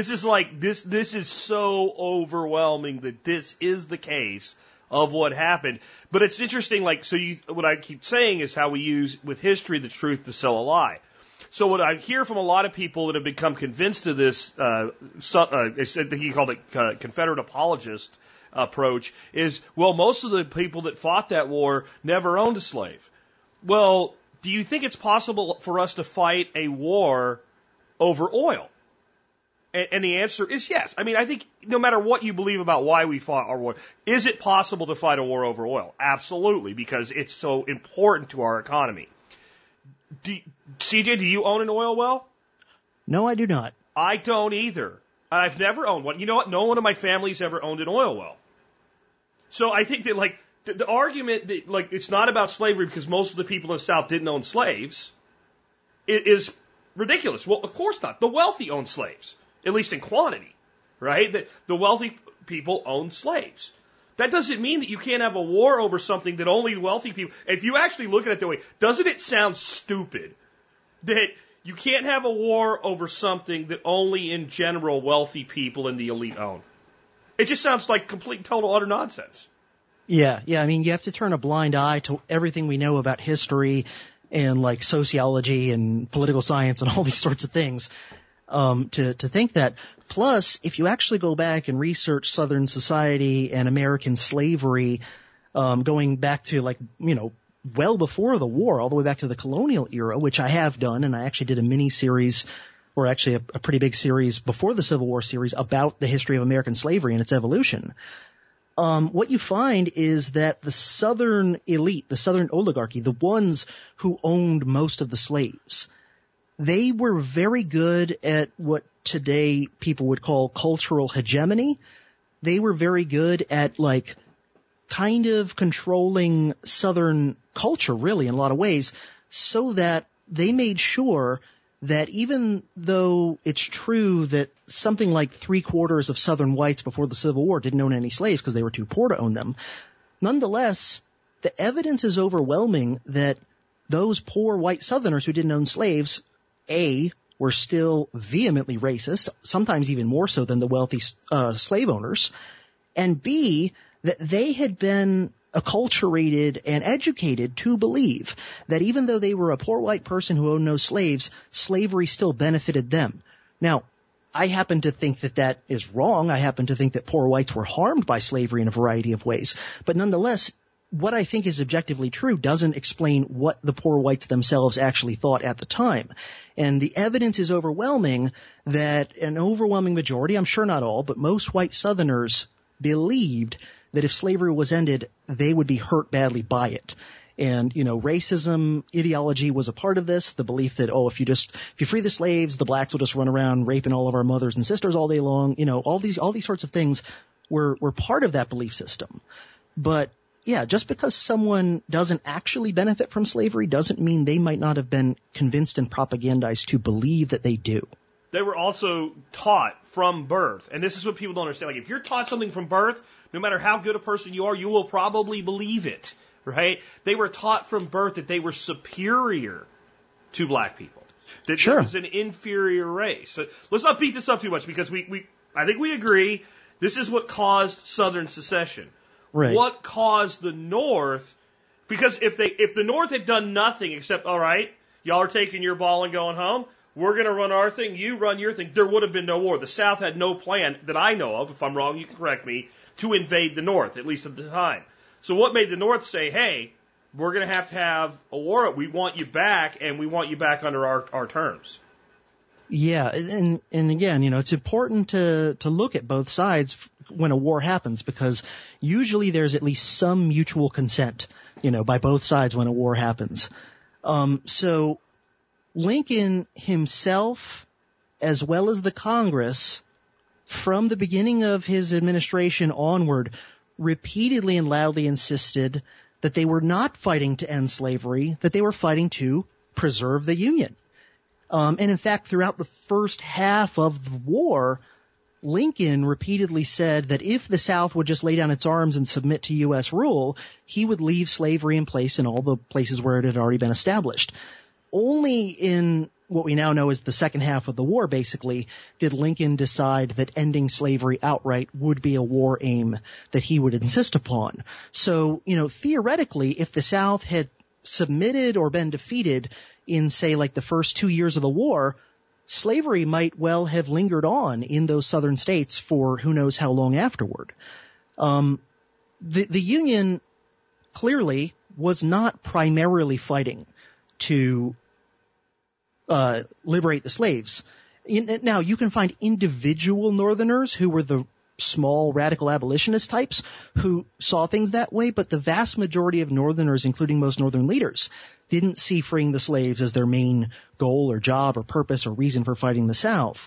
is so overwhelming that this is the case of what happened. But it's interesting, what I keep saying is how we use with history the truth to sell a lie. So what I hear from a lot of people that have become convinced of this, he called it Confederate apologist approach, is, well, most of the people that fought that war never owned a slave. Well, do you think it's possible for us to fight a war over oil? And the answer is yes. I mean, I think no matter what you believe about why we fought our war, is it possible to fight a war over oil? Absolutely, because it's so important to our economy. CJ, do you own an oil well? No, I do not. I don't either. I've never owned one. You know what? No one in my family's ever owned an oil well. So I think that, the argument that, it's not about slavery because most of the people in the South didn't own slaves is ridiculous. Well, of course not. The wealthy own slaves. At least in quantity, right? The wealthy people own slaves. That doesn't mean that you can't have a war over something that only wealthy people... If you actually look at it that way, doesn't it sound stupid that you can't have a war over something that only in general wealthy people and the elite own? It just sounds like complete, total, utter nonsense. Yeah. I mean, you have to turn a blind eye to everything we know about history and sociology and political science and all these sorts of things. To think that. Plus, if you actually go back and research Southern society and American slavery, going back to well before the war, all the way back to the colonial era, which I have done, and I actually did a mini series, or actually a pretty big series before the Civil War series about the history of American slavery and its evolution. What you find is that the Southern elite, the Southern oligarchy, the ones who owned most of the slaves, they were very good at what today people would call cultural hegemony. They were very good at kind of controlling Southern culture, really, in a lot of ways, so that they made sure that even though it's true that something like 3/4 of Southern whites before the Civil War didn't own any slaves because they were too poor to own them, nonetheless, the evidence is overwhelming that those poor white Southerners who didn't own slaves, A, were still vehemently racist, sometimes even more so than the wealthy slave owners, and B, that they had been acculturated and educated to believe that even though they were a poor white person who owned no slaves, slavery still benefited them. Now, I happen to think that that is wrong. I happen to think that poor whites were harmed by slavery in a variety of ways. But nonetheless, what I think is objectively true doesn't explain what the poor whites themselves actually thought at the time. And the evidence is overwhelming that an overwhelming majority, I'm sure not all, but most white Southerners believed that if slavery was ended, they would be hurt badly by it. And, racism ideology was a part of this, the belief that, if you free the slaves, the blacks will just run around raping all of our mothers and sisters all day long. All these sorts of things were part of that belief system. But yeah, just because someone doesn't actually benefit from slavery doesn't mean they might not have been convinced and propagandized to believe that they do. They were also taught from birth, and this is what people don't understand. Like, if you're taught something from birth, no matter how good a person you are, you will probably believe it, right? They were taught from birth that they were superior to black people, that Sure. there was an inferior race. So let's not beat this up too much, because I think we agree this is what caused Southern secession. Right. What caused the North? Because if the North had done nothing except, all right, y'all are taking your ball and going home, we're going to run our thing, you run your thing, there would have been no war. The South had no plan that I know of, if I'm wrong, you can correct me, to invade the North, at least at the time. So what made the North say, hey, we're going to have a war, we want you back, and we want you back under our terms? Yeah, and again, it's important to look at both sides when a war happens, because usually there's at least some mutual consent, by both sides when a war happens. So Lincoln himself, as well as the Congress, from the beginning of his administration onward, repeatedly and loudly insisted that they were not fighting to end slavery, that they were fighting to preserve the Union. And in fact, throughout the first half of the war, Lincoln repeatedly said that if the South would just lay down its arms and submit to U.S. rule, he would leave slavery in place in all the places where it had already been established. Only in what we now know as the second half of the war, basically, did Lincoln decide that ending slavery outright would be a war aim that he would insist upon. So, theoretically, if the South had submitted or been defeated in, say, like the first 2 years of the war, slavery might well have lingered on in those southern states for who knows how long afterward. The Union clearly was not primarily fighting to liberate the slaves. Now, you can find individual Northerners who were the small radical abolitionist types who saw things that way, but the vast majority of Northerners, including most Northern leaders, didn't see freeing the slaves as their main goal or job or purpose or reason for fighting the South.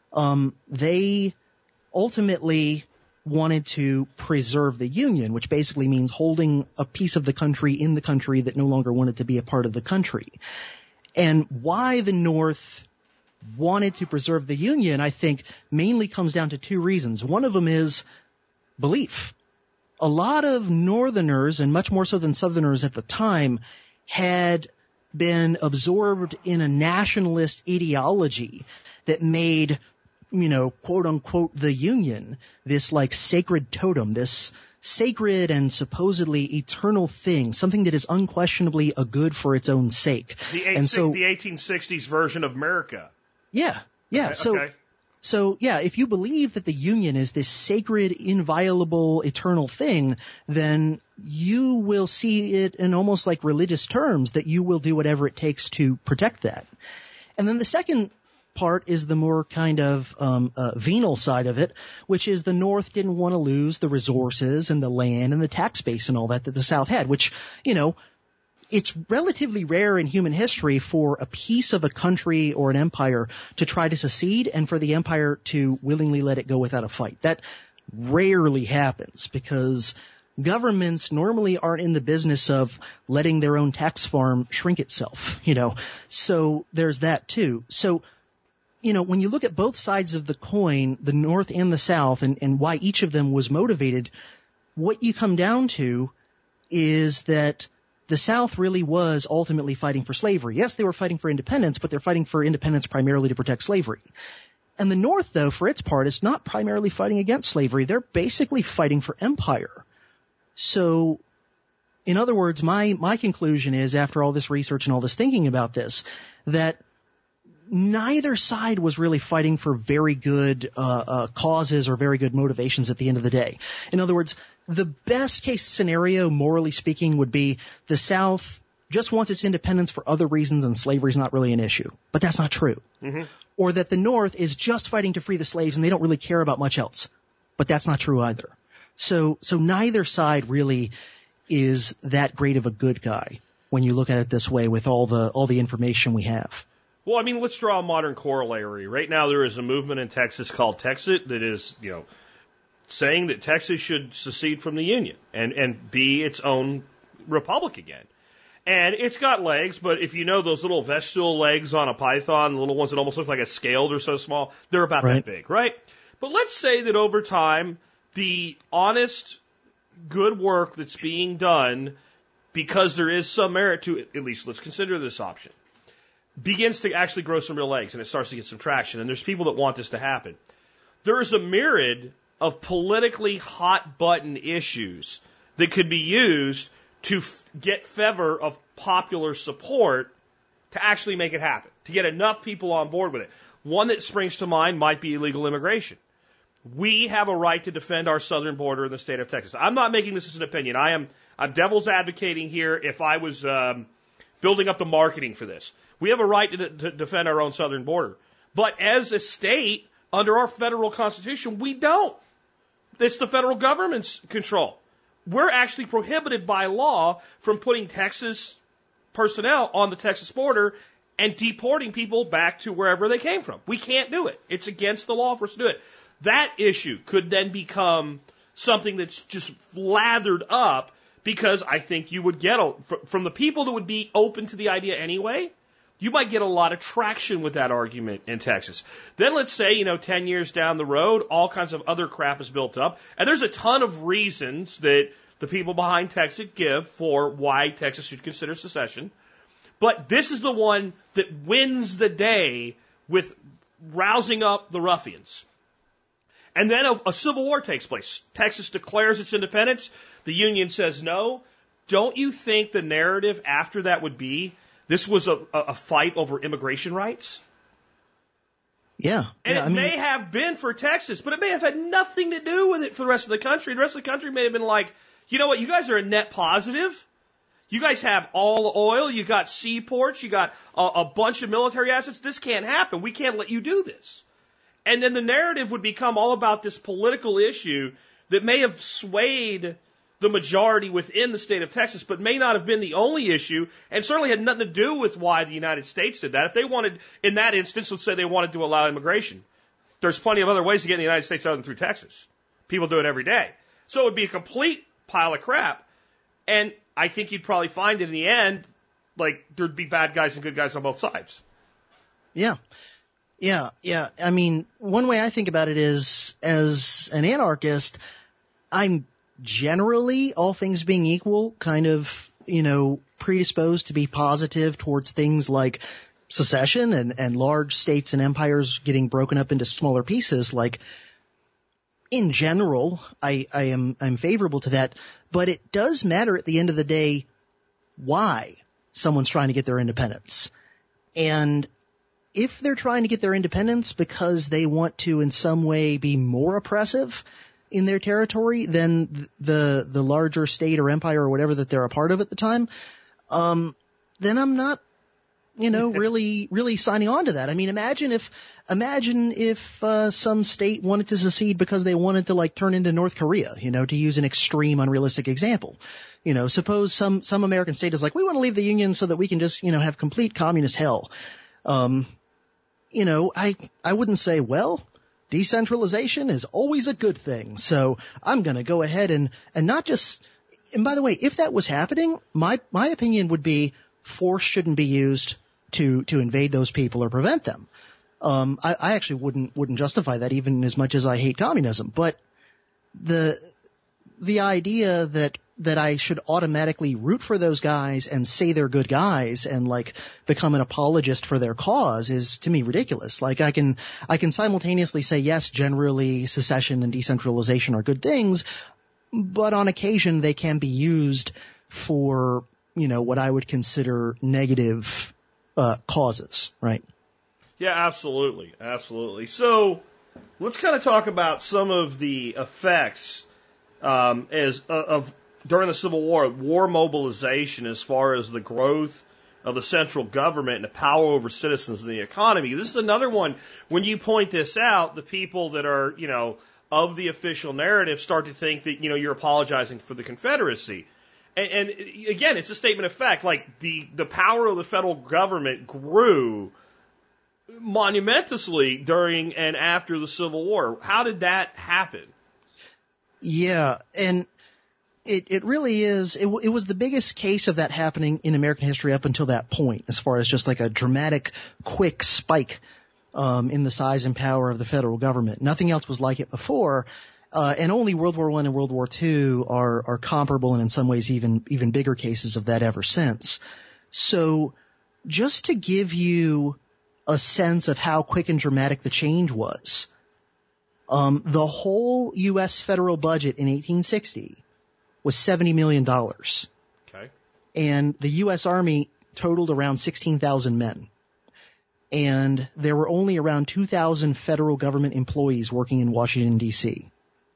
They ultimately wanted to preserve the Union, which basically means holding a piece of the country in the country that no longer wanted to be a part of the country. And why the North wanted to preserve the Union, I think, mainly comes down to two reasons. One of them is belief. A lot of Northerners, and much more so than Southerners at the time, had been absorbed in a nationalist ideology that made, quote unquote, the Union this like sacred totem, this sacred and supposedly eternal thing, something that is unquestionably a good for its own sake. The 1860s version of America. Yeah. Okay. So, if you believe that the Union is this sacred, inviolable, eternal thing, then you will see it in almost like religious terms that you will do whatever it takes to protect that. And then the second part is the more kind of venal side of it, which is the North didn't want to lose the resources and the land and the tax base and all that the South had, which, it's relatively rare in human history for a piece of a country or an empire to try to secede and for the empire to willingly let it go without a fight. That rarely happens because governments normally aren't in the business of letting their own tax farm shrink itself, So there's that too. So, when you look at both sides of the coin, the North and the South, and why each of them was motivated, what you come down to is that the South really was ultimately fighting for slavery. Yes, they were fighting for independence, but they're fighting for independence primarily to protect slavery. And the North, though, for its part, is not primarily fighting against slavery. They're basically fighting for empire. So, in other words, my conclusion is, after all this research and all this thinking about this, that neither side was really fighting for very good causes or very good motivations at the end of the day. In other words, the best case scenario, morally speaking, would be the South just wants its independence for other reasons and slavery is not really an issue. But that's not true. Mm-hmm. Or that the North is just fighting to free the slaves and they don't really care about much else. But that's not true either. So neither side really is that great of a good guy when you look at it this way with all the information we have. Well, I mean, let's draw a modern corollary. Right now there is a movement in Texas called Texit that is, saying that Texas should secede from the Union and be its own republic again. And it's got legs, but if you know those little vestigial legs on a python, the little ones that almost look like a scale, they're so small, they're about that big, right? But let's say that over time, the honest, good work that's being done, because there is some merit to it, at least let's consider this option, begins to actually grow some real legs and it starts to get some traction. And there's people that want this to happen. There is a myriad of politically hot button issues that could be used to get favor of popular support to actually make it happen, to get enough people on board with it. One that springs to mind might be illegal immigration. We have a right to defend our southern border in the state of Texas. I'm not making this as an opinion. I'm devil's advocating here if I was building up the marketing for this. We have a right to defend our own southern border. But as a state, under our federal constitution, we don't. It's the federal government's control. We're actually prohibited by law from putting Texas personnel on the Texas border and deporting people back to wherever they came from. We can't do it. It's against the law for us to do it. That issue could then become something that's just lathered up because I think you would get, from the people that would be open to the idea anyway, you might get a lot of traction with that argument in Texas. Then let's say, 10 years down the road, all kinds of other crap is built up. And there's a ton of reasons that the people behind Texas give for why Texas should consider secession. But this is the one that wins the day with rousing up the ruffians. And then a civil war takes place. Texas declares its independence. The Union says no. Don't you think the narrative after that would be this was a fight over immigration rights? Yeah. And it may have been for Texas, but it may have had nothing to do with it for the rest of the country. The rest of the country may have been like, you know what, you guys are a net positive. You guys have all the oil. You got seaports. You got a bunch of military assets. This can't happen. We can't let you do this. And then the narrative would become all about this political issue that may have swayed the majority within the state of Texas, but may not have been the only issue, and certainly had nothing to do with why the United States did that. If they wanted, in that instance, let's say they wanted to allow immigration, there's plenty of other ways to get in the United States other than through Texas. People do it every day. So it would be a complete pile of crap. And I think you'd probably find in the end, like, there'd be bad guys and good guys on both sides. Yeah. Yeah. I mean, one way I think about it is, as an anarchist, I'm generally, all things being equal, kind of, predisposed to be positive towards things like secession and large states and empires getting broken up into smaller pieces. Like, in general, I'm favorable to that, but it does matter at the end of the day why someone's trying to get their independence. And if they're trying to get their independence because they want to in some way be more oppressive in their territory than the larger state or empire or whatever that they're a part of at the time, then I'm not, really signing on to that. I mean, imagine if some state wanted to secede because they wanted to turn into North Korea, to use an extreme, unrealistic example. Suppose some American state is like, we want to leave the Union so that we can just, have complete communist hell. I wouldn't say, well, decentralization is always a good thing. So I'm going to go ahead and not just, and by the way, if that was happening, my opinion would be force shouldn't be used to invade those people or prevent them. I actually wouldn't justify that even as much as I hate communism. But the idea that I should automatically root for those guys and say they're good guys and become an apologist for their cause is to me ridiculous. I can simultaneously say, yes, generally secession and decentralization are good things, but on occasion they can be used for, what I would consider negative causes, right? Yeah, absolutely. Absolutely. So let's kind of talk about some of the effects of during the Civil War, war mobilization as far as the growth of the central government and the power over citizens and the economy. This is another one. When you point this out, the people that are, of the official narrative start to think that, you're apologizing for the Confederacy. And again, it's a statement of fact. Like the power of the federal government grew monumentously during and after the Civil War. How did that happen? Yeah, and it really is. It was the biggest case of that happening in American history up until that point, as far as just like a dramatic, quick spike in the size and power of the federal government. Nothing else was like it before, and only World War I and World War II are comparable, and in some ways even bigger cases of that ever since. So, just to give you a sense of how quick and dramatic the change was, the whole U.S. federal budget in 1860 was $70 million. Okay. And the U.S. Army totaled around 16,000 men. And there were only around 2,000 federal government employees working in Washington, D.C.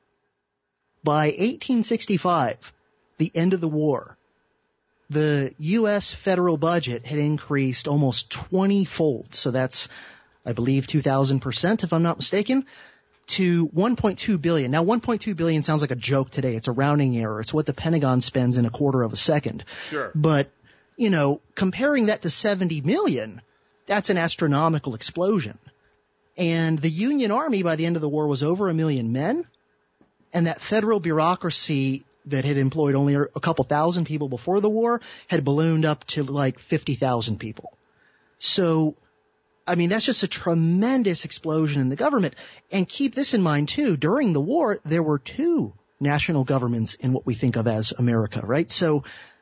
By 1865, the end of the war, the U.S. federal budget had increased almost 20-fold. So that's, I believe, 2,000%, if I'm not mistaken, to $1.2 billion. Now, $1.2 billion sounds like a joke today. It's a rounding error. It's what the Pentagon spends in a quarter of a second. Sure. But, comparing that to 70 million, that's an astronomical explosion. And the Union Army by the end of the war was over 1 million men. And that federal bureaucracy that had employed only a couple thousand people before the war had ballooned up to like 50,000 people. So, that's just a tremendous explosion in the government. And keep this in mind, too. During the war, there were 2 national governments in what we think of as America, right? So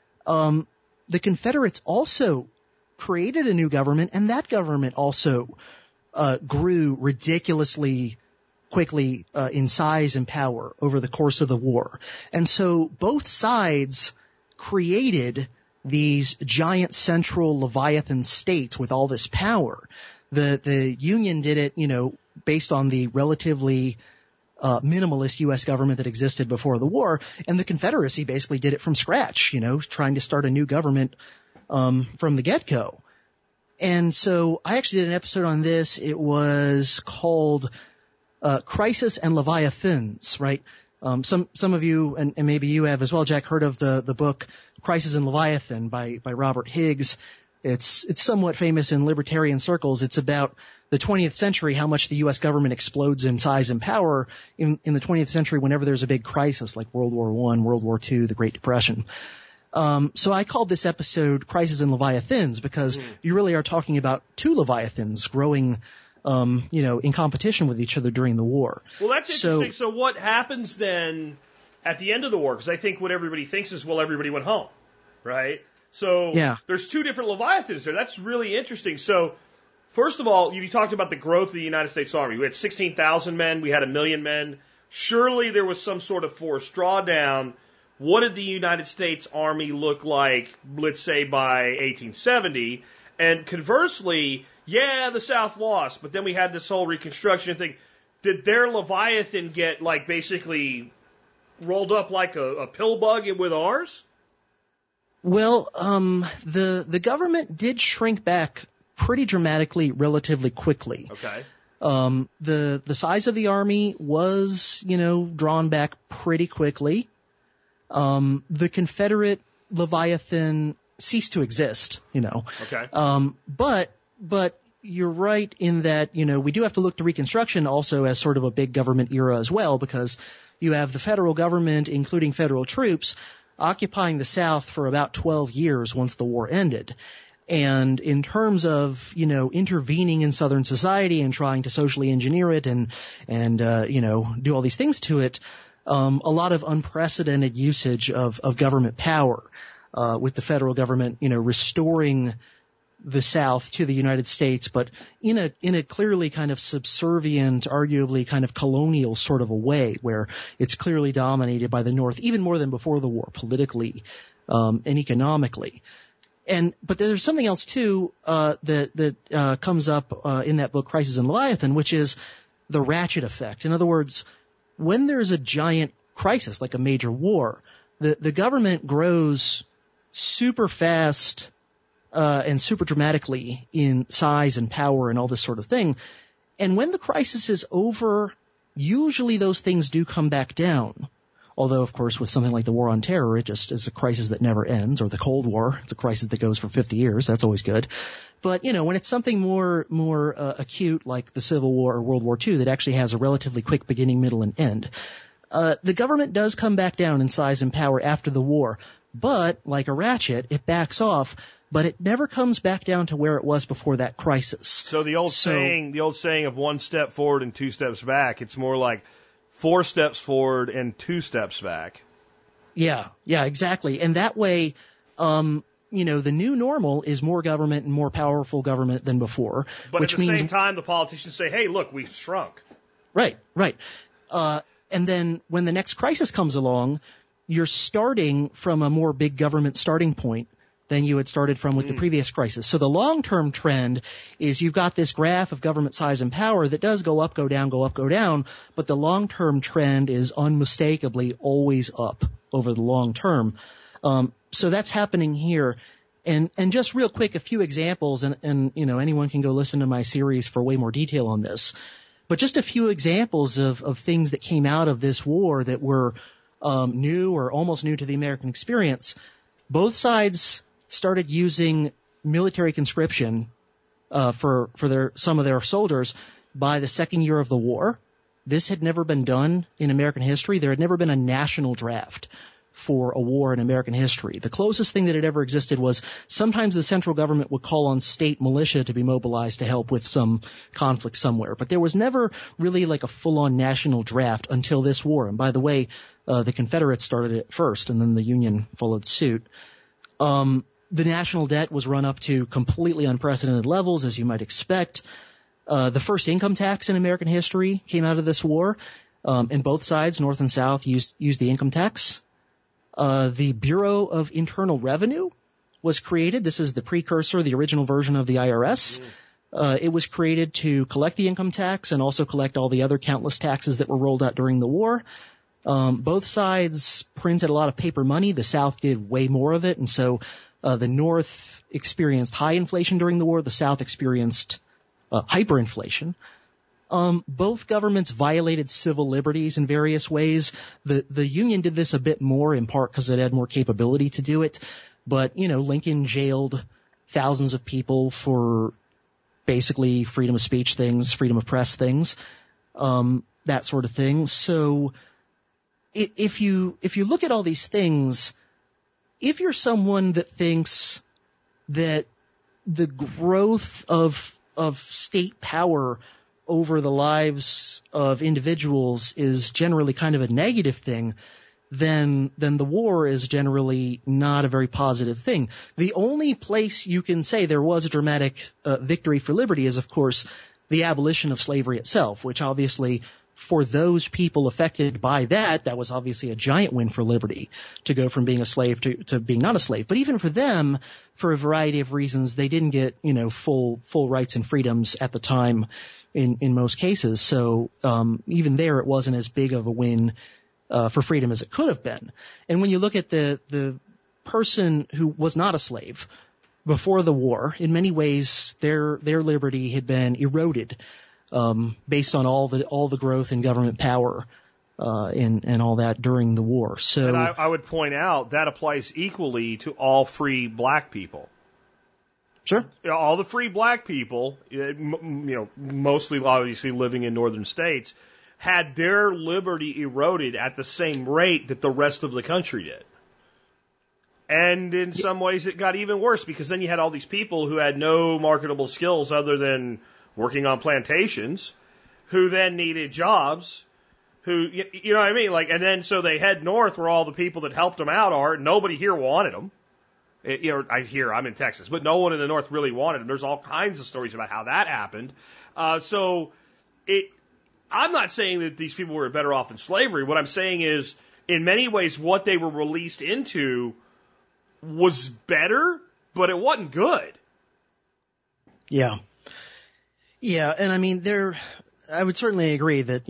the Confederates also created a new government, and that government also grew ridiculously quickly in size and power over the course of the war. And so both sides created these giant central Leviathan states with all this power. The Union did it, based on the relatively minimalist U.S. government that existed before the war, and the Confederacy basically did it from scratch, trying to start a new government from the get-go. And so I actually did an episode on this. It was called Crisis and Leviathans, right? Some of you, and maybe you have as well, Jack, heard of the book Crisis and Leviathan by Robert Higgs. It's somewhat famous in libertarian circles. It's about the 20th century, how much the U.S. government explodes in size and power in the 20th century whenever there's a big crisis like World War I, World War II, the Great Depression. So I called this episode Crisis and Leviathans because you really are talking about 2 Leviathans growing, in competition with each other during the war. Well, that's interesting. So what happens then at the end of the war? Because I think what everybody thinks is, well, everybody went home, right? So there's 2 different Leviathans there. That's really interesting. So first of all, you talked about the growth of the United States Army. We had 16,000 men. We had 1 million men. Surely there was some sort of forced drawdown. What did the United States Army look like, let's say, by 1870? And conversely, the South lost, but then we had this whole Reconstruction thing. Did their Leviathan get, basically rolled up like a pill bug with ours? Well, the government did shrink back pretty dramatically, relatively quickly. Okay. The size of the army was, drawn back pretty quickly. The Confederate Leviathan ceased to exist, Okay. But you're right in that, we do have to look to Reconstruction also as sort of a big government era as well, because you have the federal government, including federal troops, occupying the South for about 12 years once the war ended. And in terms of, intervening in Southern society and trying to socially engineer it and do all these things to it, a lot of unprecedented usage of government power, with the federal government, restoring the South to the United States, but in a clearly kind of subservient, arguably kind of colonial sort of a way, where it's clearly dominated by the North, even more than before the war, politically, and economically. But there's something else too that comes up in that book, Crisis in Leviathan, which is the ratchet effect. In other words, when there's a giant crisis like a major war, the government grows super fast and super dramatically in size and power and all this sort of thing. And when the crisis is over, usually those things do come back down. Although, of course, with something like the War on Terror, it just is a crisis that never ends, or the Cold War, it's a crisis that goes for 50 years. That's always good. But, when it's something more acute like the Civil War or World War II that actually has a relatively quick beginning, middle, and end, the government does come back down in size and power after the war. But, like a ratchet, it backs off, but it never comes back down to where it was before that crisis. So the old saying of 1 step forward and 2 steps back, it's more like 4 steps forward and 2 steps back. Yeah, exactly. And that way, the new normal is more government and more powerful government than before. But at the same time, the politicians say, hey, look, we've shrunk. Right. And then when the next crisis comes along, you're starting from a more big government starting point than you had started from with the previous crisis. So the long-term trend is you've got this graph of government size and power that does go up, go down, go up, go down, but the long-term trend is unmistakably always up over the long term. So that's happening here. And just real quick, a few examples, and anyone can go listen to my series for way more detail on this. But just a few examples of things that came out of this war that were new or almost new to the American experience. Both sides started using military conscription for some of their soldiers by the second year of the war. This had never been done in American history. There had never been a national draft for a war in American history. The closest thing that had ever existed was sometimes the central government would call on state militia to be mobilized to help with some conflict somewhere. But there was never really like a full-on national draft until this war. And by the way, the Confederates started it first, and then the Union followed suit. The national debt was run up to completely unprecedented levels, as you might expect. The first income tax in American history came out of this war, and both sides, North and South, used the income tax. The Bureau of Internal Revenue was created. This is the precursor, the original version of the IRS. It was created to collect the income tax and also collect all the other countless taxes that were rolled out during the war. Both sides printed a lot of paper money. The South did way more of it, and so the North experienced high inflation during the war. The South experienced hyperinflation. Both governments violated civil liberties in various ways. The Union did this a bit more, in part because it had more capability to do it. But, Lincoln jailed thousands of people for basically freedom of speech things, freedom of press things, that sort of thing. So if you look at all these things, if you're someone that thinks that the growth of state power over the lives of individuals is generally kind of a negative thing, then the war is generally not a very positive thing. The only place you can say there was a dramatic victory for liberty is, of course, the abolition of slavery itself, which obviously for those people affected by that was obviously a giant win for liberty to go from being a slave to being not a slave. But even for them, for a variety of reasons, they didn't get, full rights and freedoms at the time in most cases. So, even there, it wasn't as big of a win, for freedom as it could have been. And when you look at the person who was not a slave before the war, in many ways, their liberty had been eroded, based on all the growth in government power, and all that during the war. So, and I would point out that applies equally to all free black people. Sure. All the free black people, mostly obviously living in northern states, had their liberty eroded at the same rate that the rest of the country did. And in some ways it got even worse, because then you had all these people who had no marketable skills other than working on plantations, who then needed jobs, who, you know what I mean? And then so they head north where all the people that helped them out are. Nobody here wanted them. I'm in Texas, but no one in the north really wanted them. There's all kinds of stories about how that happened. I'm not saying that these people were better off in slavery. What I'm saying is, in many ways, what they were released into was better but it wasn't good. Yeah. Yeah, and I mean, I would certainly agree that,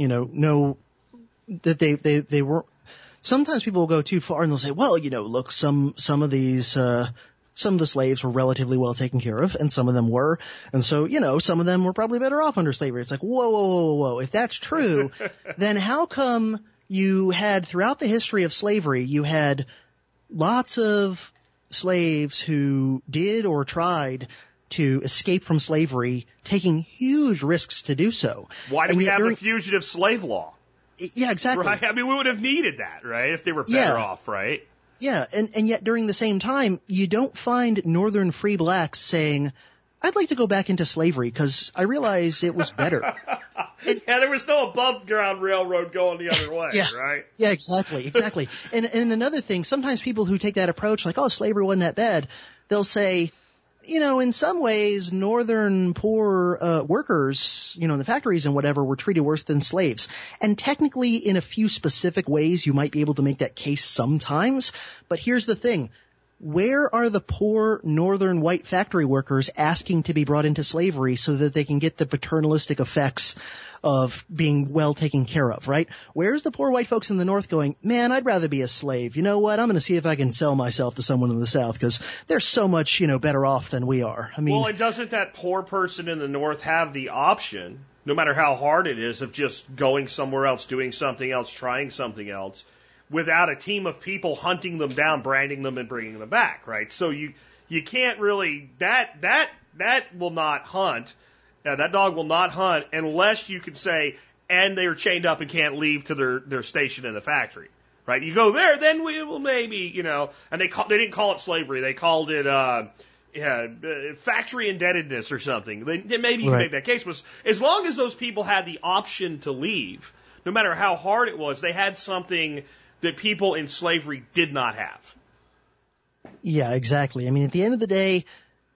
that they weren't, sometimes people will go too far and they'll say, well, look, some of the slaves were relatively well taken care of, and some of them were. And so, some of them were probably better off under slavery. It's like, whoa. If that's true, then how come you had, throughout the history of slavery, you had lots of slaves who did or tried to escape from slavery, taking huge risks to do so? Why do we have a fugitive slave law? Yeah, exactly. Right? I mean, we would have needed that, right? If they were better off, right? Yeah, and yet during the same time, you don't find northern free blacks saying, I'd like to go back into slavery because I realize it was better. There was no above ground railroad going the other way, right? Yeah, exactly. And another thing, sometimes people who take that approach, like, oh, slavery wasn't that bad, they'll say, in some ways, northern poor workers, in the factories and whatever, were treated worse than slaves. And technically, in a few specific ways, you might be able to make that case sometimes. But here's the thing. Where are the poor northern white factory workers asking to be brought into slavery so that they can get the paternalistic effects of being well taken care of, right? Where's the poor white folks in the North going, man, I'd rather be a slave. You know what? I'm going to see if I can sell myself to someone in the South because they're so much, better off than we are. I mean, well, and doesn't that poor person in the North have the option, no matter how hard it is, of just going somewhere else, doing something else, trying something else, without a team of people hunting them down, branding them, and bringing them back, right? So you can't really, that will not hunt. That dog will not hunt unless you can say, and they're chained up and can't leave to their station in the factory, right? You go there, then we will maybe, and they didn't call it slavery. They called it, factory indebtedness or something. Maybe you can make that case. But as long as those people had the option to leave, no matter how hard it was, they had something that people in slavery did not have. Yeah, exactly. I mean, at the end of the day,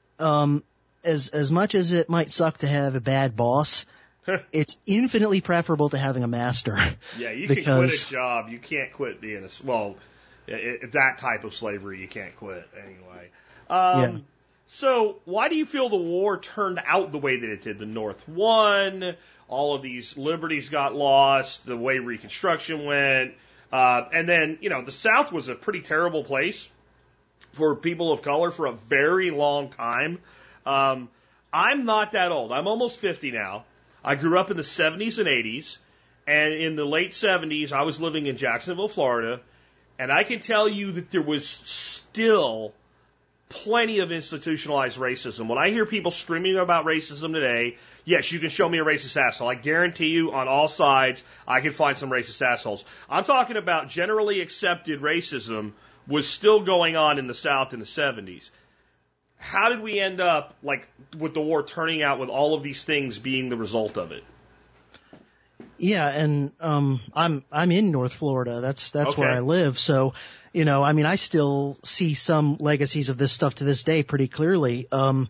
as much as it might suck to have a bad boss, it's infinitely preferable to having a master. Yeah, you can quit a job. You can't quit being that type of slavery. You can't quit anyway. So why do you feel the war turned out the way that it did? The North won. All of these liberties got lost. The way Reconstruction went. And then, the South was a pretty terrible place for people of color for a very long time. I'm not that old. I'm almost 50 now. I grew up in the 70s and 80s. And in the late 70s, I was living in Jacksonville, Florida. And I can tell you that there was still plenty of institutionalized racism. When I hear people screaming about racism today, yes, you can show me a racist asshole. I guarantee you on all sides, I can find some racist assholes. I'm talking about generally accepted racism was still going on in the South in the 70s. How did we end up, with the war turning out with all of these things being the result of it? Yeah, and I'm in North Florida. That's okay. Where I live. So, I still see some legacies of this stuff to this day pretty clearly.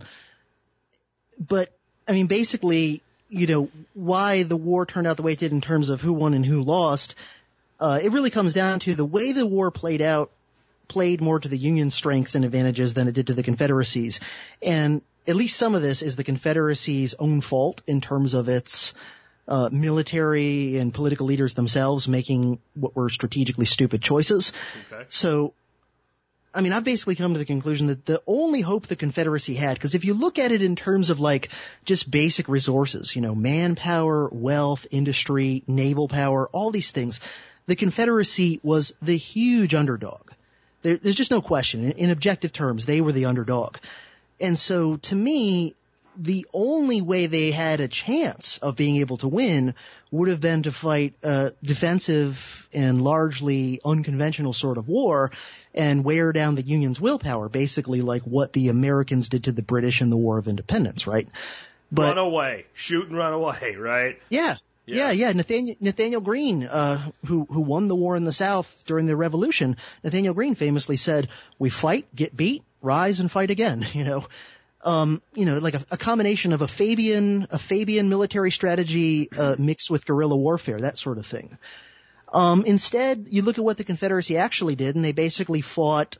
But basically, why the war turned out the way it did in terms of who won and who lost, it really comes down to the way the war played more to the Union strengths and advantages than it did to the Confederacy's. And at least some of this is the Confederacy's own fault in terms of its military and political leaders themselves making what were strategically stupid choices. Okay. So, I've basically come to the conclusion that the only hope the Confederacy had, because if you look at it in terms of just basic resources, manpower, wealth, industry, naval power, all these things, the Confederacy was the huge underdog. There's just no question. In objective terms, they were the underdog. And so to me, the only way they had a chance of being able to win would have been to fight a defensive and largely unconventional sort of war and wear down the Union's willpower, basically like what the Americans did to the British in the War of Independence, right? Run away. Shoot and run away, right? Yeah. Nathaniel Greene, who won the war in the South during the Revolution, Nathaniel Greene famously said, "We fight, get beat, rise and fight again." Like a combination of a Fabian military strategy mixed with guerrilla warfare, that sort of thing. Instead, you look at what the Confederacy actually did, and they basically fought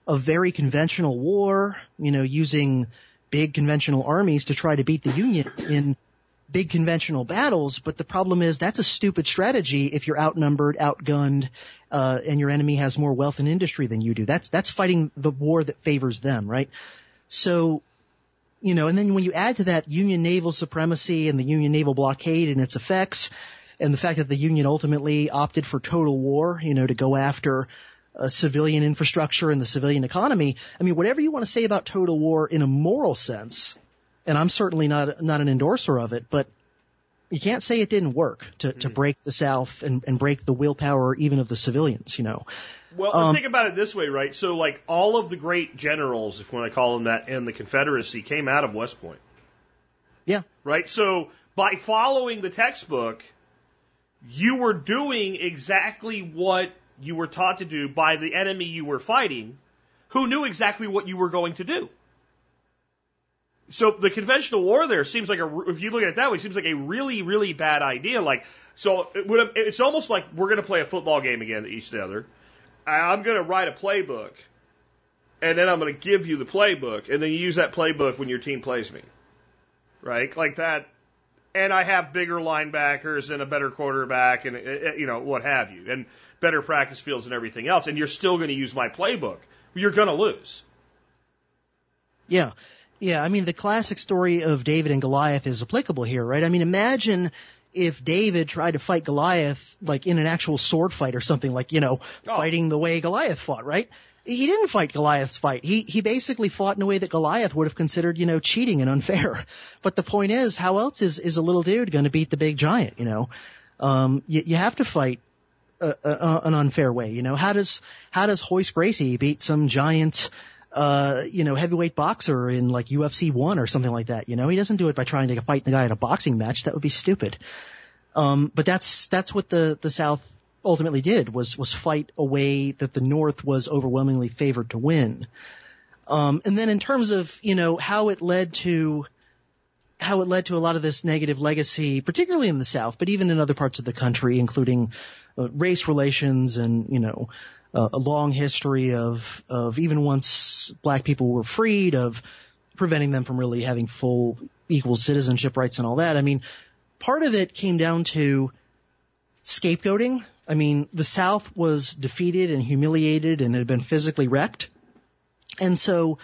a very conventional war, using big conventional armies to try to beat the Union in big conventional battles. But the problem is that's a stupid strategy if you're outnumbered, outgunned, and your enemy has more wealth and industry than you do. That's fighting the war that favors them, right? So, and then when you add to that Union naval supremacy and the Union naval blockade and its effects, and the fact that the Union ultimately opted for total war, to go after civilian infrastructure and the civilian economy. I mean, whatever you want to say about total war in a moral sense, and I'm certainly not an endorser of it, but you can't say it didn't work to break the South and break the willpower even of the civilians, Well, think about it this way, right? So, like, all of the great generals, if you want to call them that, in the Confederacy came out of West Point. Yeah. Right? So, by following the textbook, you were doing exactly what you were taught to do by the enemy you were fighting, who knew exactly what you were going to do. So the conventional war there seems like if you look at it that way, seems like a really, really bad idea. It's almost like we're going to play a football game again each other. I'm going to write a playbook, and then I'm going to give you the playbook, and then you use that playbook when your team plays me. Right? Like that. And I have bigger linebackers and a better quarterback and, what have you, and better practice fields and everything else. And you're still going to use my playbook. You're going to lose. Yeah. Yeah. I mean, the classic story of David and Goliath is applicable here, right? I mean, imagine if David tried to fight Goliath, like in an actual sword fight or something, like, fighting the way Goliath fought, right? He didn't fight Goliath's fight. He basically fought in a way that Goliath would have considered, cheating and unfair. But the point is, how else is a little dude going to beat the big giant, You have to fight an unfair way, How does Hoist Gracie beat some giant, heavyweight boxer in like UFC 1 or something like that, He doesn't do it by trying to fight the guy in a boxing match. That would be stupid. But that's what the South ultimately did was fight a way that the North was overwhelmingly favored to win. And then in terms of, how it led to a lot of this negative legacy, particularly in the South, but even in other parts of the country, including race relations and, a long history of even once black people were freed, of preventing them from really having full equal citizenship rights and all that. I mean, part of it came down to scapegoating. I mean, the South was defeated and humiliated and had been physically wrecked. And so,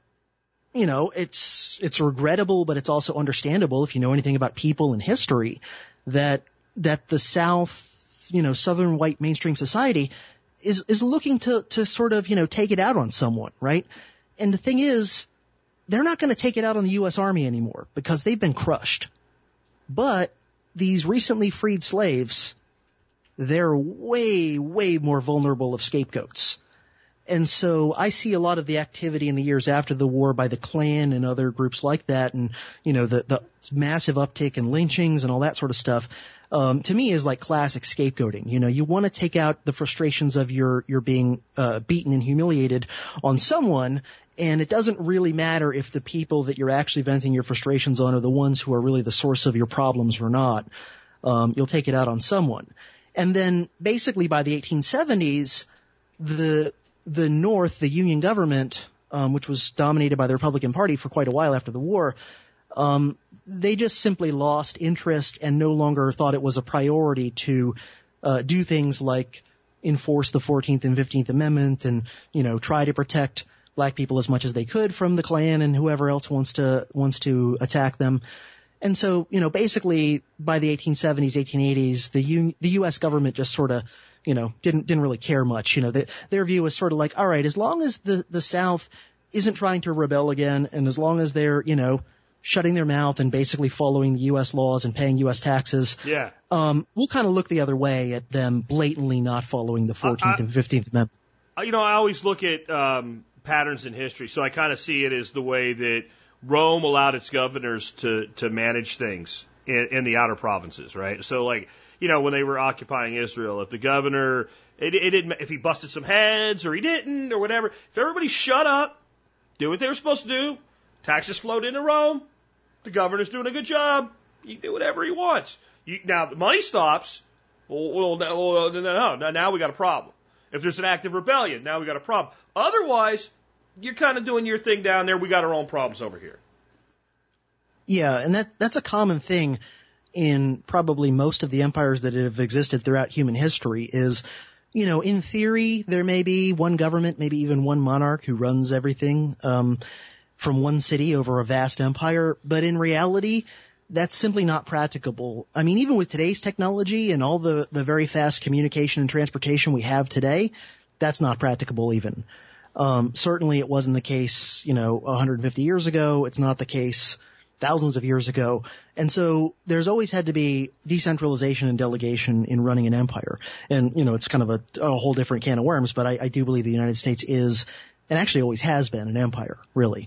it's regrettable, but it's also understandable if you know anything about people and history that the South, Southern white mainstream society is looking to sort of, take it out on someone, right? And the thing is, they're not going to take it out on the U.S. Army anymore because they've been crushed. But these recently freed slaves, they're way, way more vulnerable of scapegoats. And so I see a lot of the activity in the years after the war by the Klan and other groups like that, and, the massive uptick in lynchings and all that sort of stuff, to me is like classic scapegoating. You want to take out the frustrations of your being beaten and humiliated on someone, and it doesn't really matter if the people that you're actually venting your frustrations on are the ones who are really the source of your problems or not. You'll take it out on someone. And then basically by the 1870s, the North, the Union government, which was dominated by the Republican Party for quite a while after the war, they just simply lost interest and no longer thought it was a priority to do things like enforce the 14th and 15th Amendment and, try to protect black people as much as they could from the Klan and whoever else wants to attack them. And so, basically by the 1870s, 1880s, the U.S. government just sort of, didn't really care much. Their view was sort of like, all right, as long as the South isn't trying to rebel again, and as long as they're, shutting their mouth and basically following the U.S. laws and paying U.S. taxes, we'll kind of look the other way at them blatantly not following the 14th and 15th Amendment. I always look at patterns in history, so I kind of see it as the way that Rome allowed its governors to manage things in the outer provinces, right? So, like, when they were occupying Israel, if the governor, if he busted some heads or he didn't or whatever, if everybody shut up, do what they were supposed to do, taxes flowed into Rome, the governor's doing a good job, he can do whatever he wants. Now the money stops, now we got a problem. If there's an active rebellion, now we got a problem. Otherwise, you're kind of doing your thing down there. We got our own problems over here. Yeah, and that's a common thing in probably most of the empires that have existed throughout human history is, you know, in theory, there may be one government, maybe even one monarch who runs everything from one city over a vast empire, but in reality, that's simply not practicable. I mean, even with today's technology and all the very fast communication and transportation we have today, that's not practicable even. Certainly it wasn't the case, you know, 150 years ago. It's not the case thousands of years ago. And so there's always had to be decentralization and delegation in running an empire. And, you know, it's kind of a whole different can of worms, but I do believe the United States is, and actually always has been, an empire, really.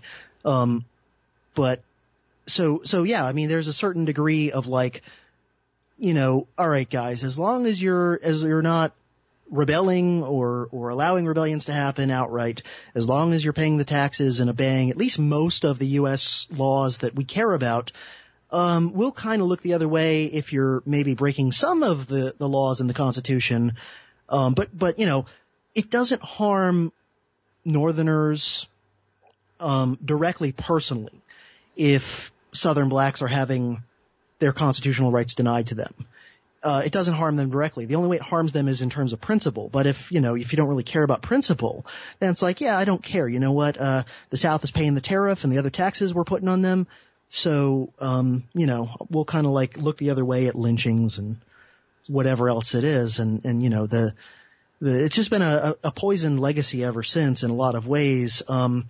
But so yeah, I mean, there's a certain degree of like, you know, all right, guys, as long as you're not rebelling or allowing rebellions to happen outright, as long as you're paying the taxes and obeying at least most of the U.S. laws that we care about, we'll kind of look the other way if you're maybe breaking some of the laws in the Constitution. But, you know, it doesn't harm Northerners, directly personally if Southern blacks are having their constitutional rights denied to them. It doesn't harm them directly. The only way it harms them is in terms of principle. But if you don't really care about principle, then it's like, yeah, I don't care. You know what? The South is paying the tariff and the other taxes we're putting on them. So, you know, we'll kind of like look the other way at lynchings and whatever else it is. And, you know, it's just been a poisoned legacy ever since in a lot of ways.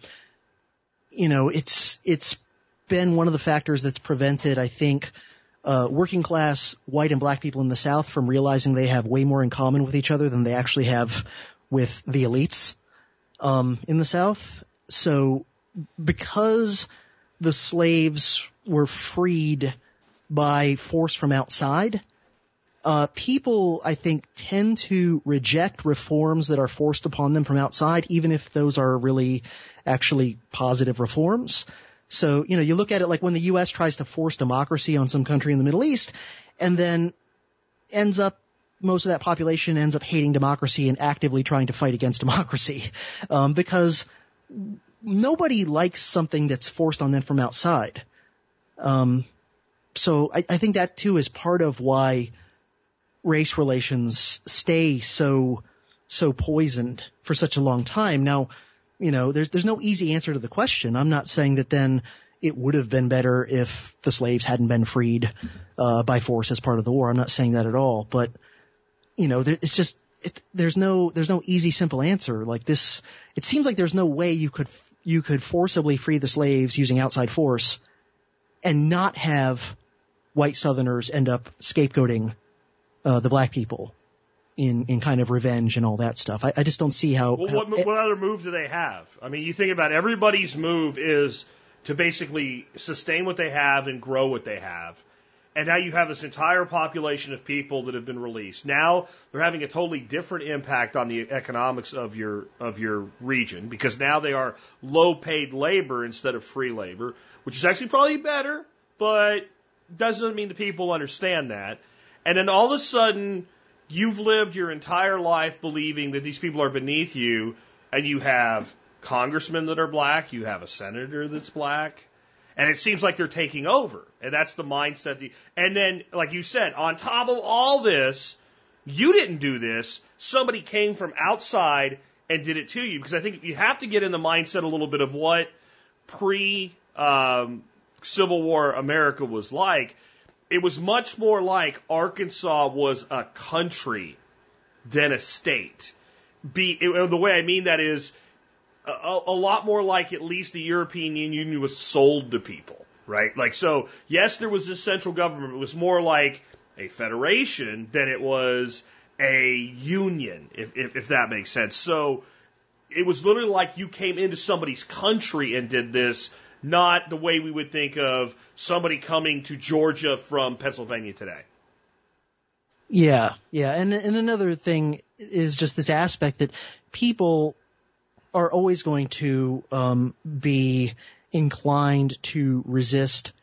You know, it's been one of the factors that's prevented, I think, working class white and black people in the South from realizing they have way more in common with each other than they actually have with the elites in the South. So because the slaves were freed by force from outside, people, I think, tend to reject reforms that are forced upon them from outside, even if those are really actually positive reforms. So, you know, you look at it like when the U.S. tries to force democracy on some country in the Middle East and then most of that population ends up hating democracy and actively trying to fight against democracy, because nobody likes something that's forced on them from outside. So I think that too is part of why race relations stay so poisoned for such a long time. Now, you know, there's no easy answer to the question. I'm not saying that then it would have been better if the slaves hadn't been freed by force as part of the war. I'm not saying that at all. But, you know, it's just there's no easy, simple answer like this. It seems like there's no way you could forcibly free the slaves using outside force and not have white Southerners end up scapegoating the black people in kind of revenge and all that stuff. I just don't see how. Well, what other move do they have? I mean, you think about everybody's move is to basically sustain what they have and grow what they have. And now you have this entire population of people that have been released. Now they're having a totally different impact on the economics of your region, because now they are low paid labor instead of free labor, which is actually probably better, but doesn't mean the people understand that. And then all of a sudden, you've lived your entire life believing that these people are beneath you, and you have congressmen that are black, you have a senator that's black, and it seems like they're taking over. And that's the mindset. And then, like you said, on top of all this, you didn't do this. Somebody came from outside and did it to you. Because I think you have to get in the mindset a little bit of what pre-Civil War America was like. It was much more like Arkansas was a country than a state. The way I mean that is a lot more like at least the European Union was sold to people, right? Like, so, yes, there was this central government. It was more like a federation than it was a union, if that makes sense. So it was literally like you came into somebody's country and did this, not the way we would think of somebody coming to Georgia from Pennsylvania today. Yeah. And another thing is just this aspect that people are always going to be inclined to resist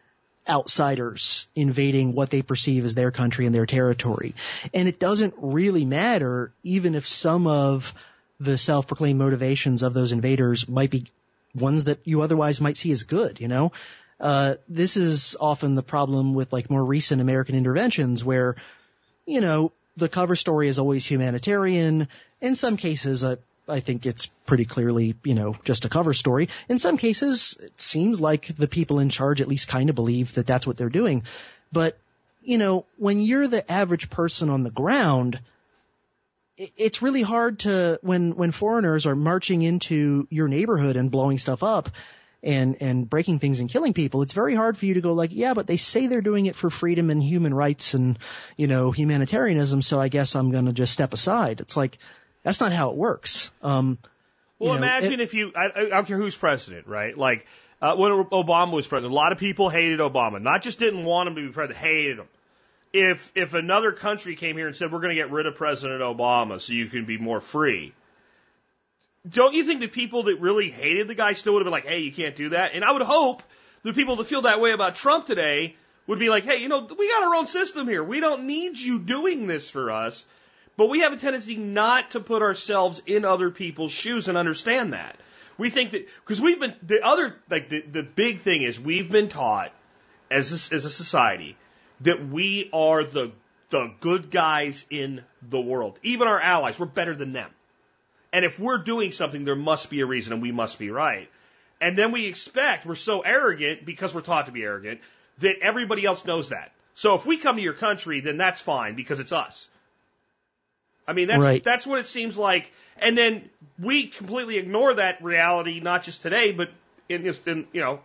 outsiders invading what they perceive as their country and their territory. And it doesn't really matter, even if some of the self-proclaimed motivations of those invaders might be ones that you otherwise might see as good, you know? This is often the problem with like more recent American interventions where, you know, the cover story is always humanitarian. In some cases, I think it's pretty clearly, you know, just a cover story. In some cases, it seems like the people in charge at least kind of believe that that's what they're doing. But, you know, when you're the average person on the ground, it's really hard to, when foreigners are marching into your neighborhood and blowing stuff up and breaking things and killing people, it's very hard for you to go like, yeah, but they say they're doing it for freedom and human rights and, you know, humanitarianism, so I guess I'm going to just step aside. It's like, that's not how it works. Well, imagine if you, I don't care who's president, right? Like, when Obama was president, a lot of people hated Obama. Not just didn't want him to be president, hated him. If another country came here and said, we're going to get rid of President Obama so you can be more free, don't you think the people that really hated the guy still would have been like, hey, you can't do that? And I would hope the people that feel that way about Trump today would be like, hey, you know, we got our own system here. We don't need you doing this for us. But we have a tendency not to put ourselves in other people's shoes and understand that. We think that, because we've been, the big thing is we've been taught as a society that we are the good guys in the world. Even our allies, we're better than them. And if we're doing something, there must be a reason and we must be right. And then we're so arrogant because we're taught to be arrogant, that everybody else knows that. So if we come to your country, then that's fine because it's us. I mean, that's what it seems like. And then we completely ignore that reality, not just today, but in the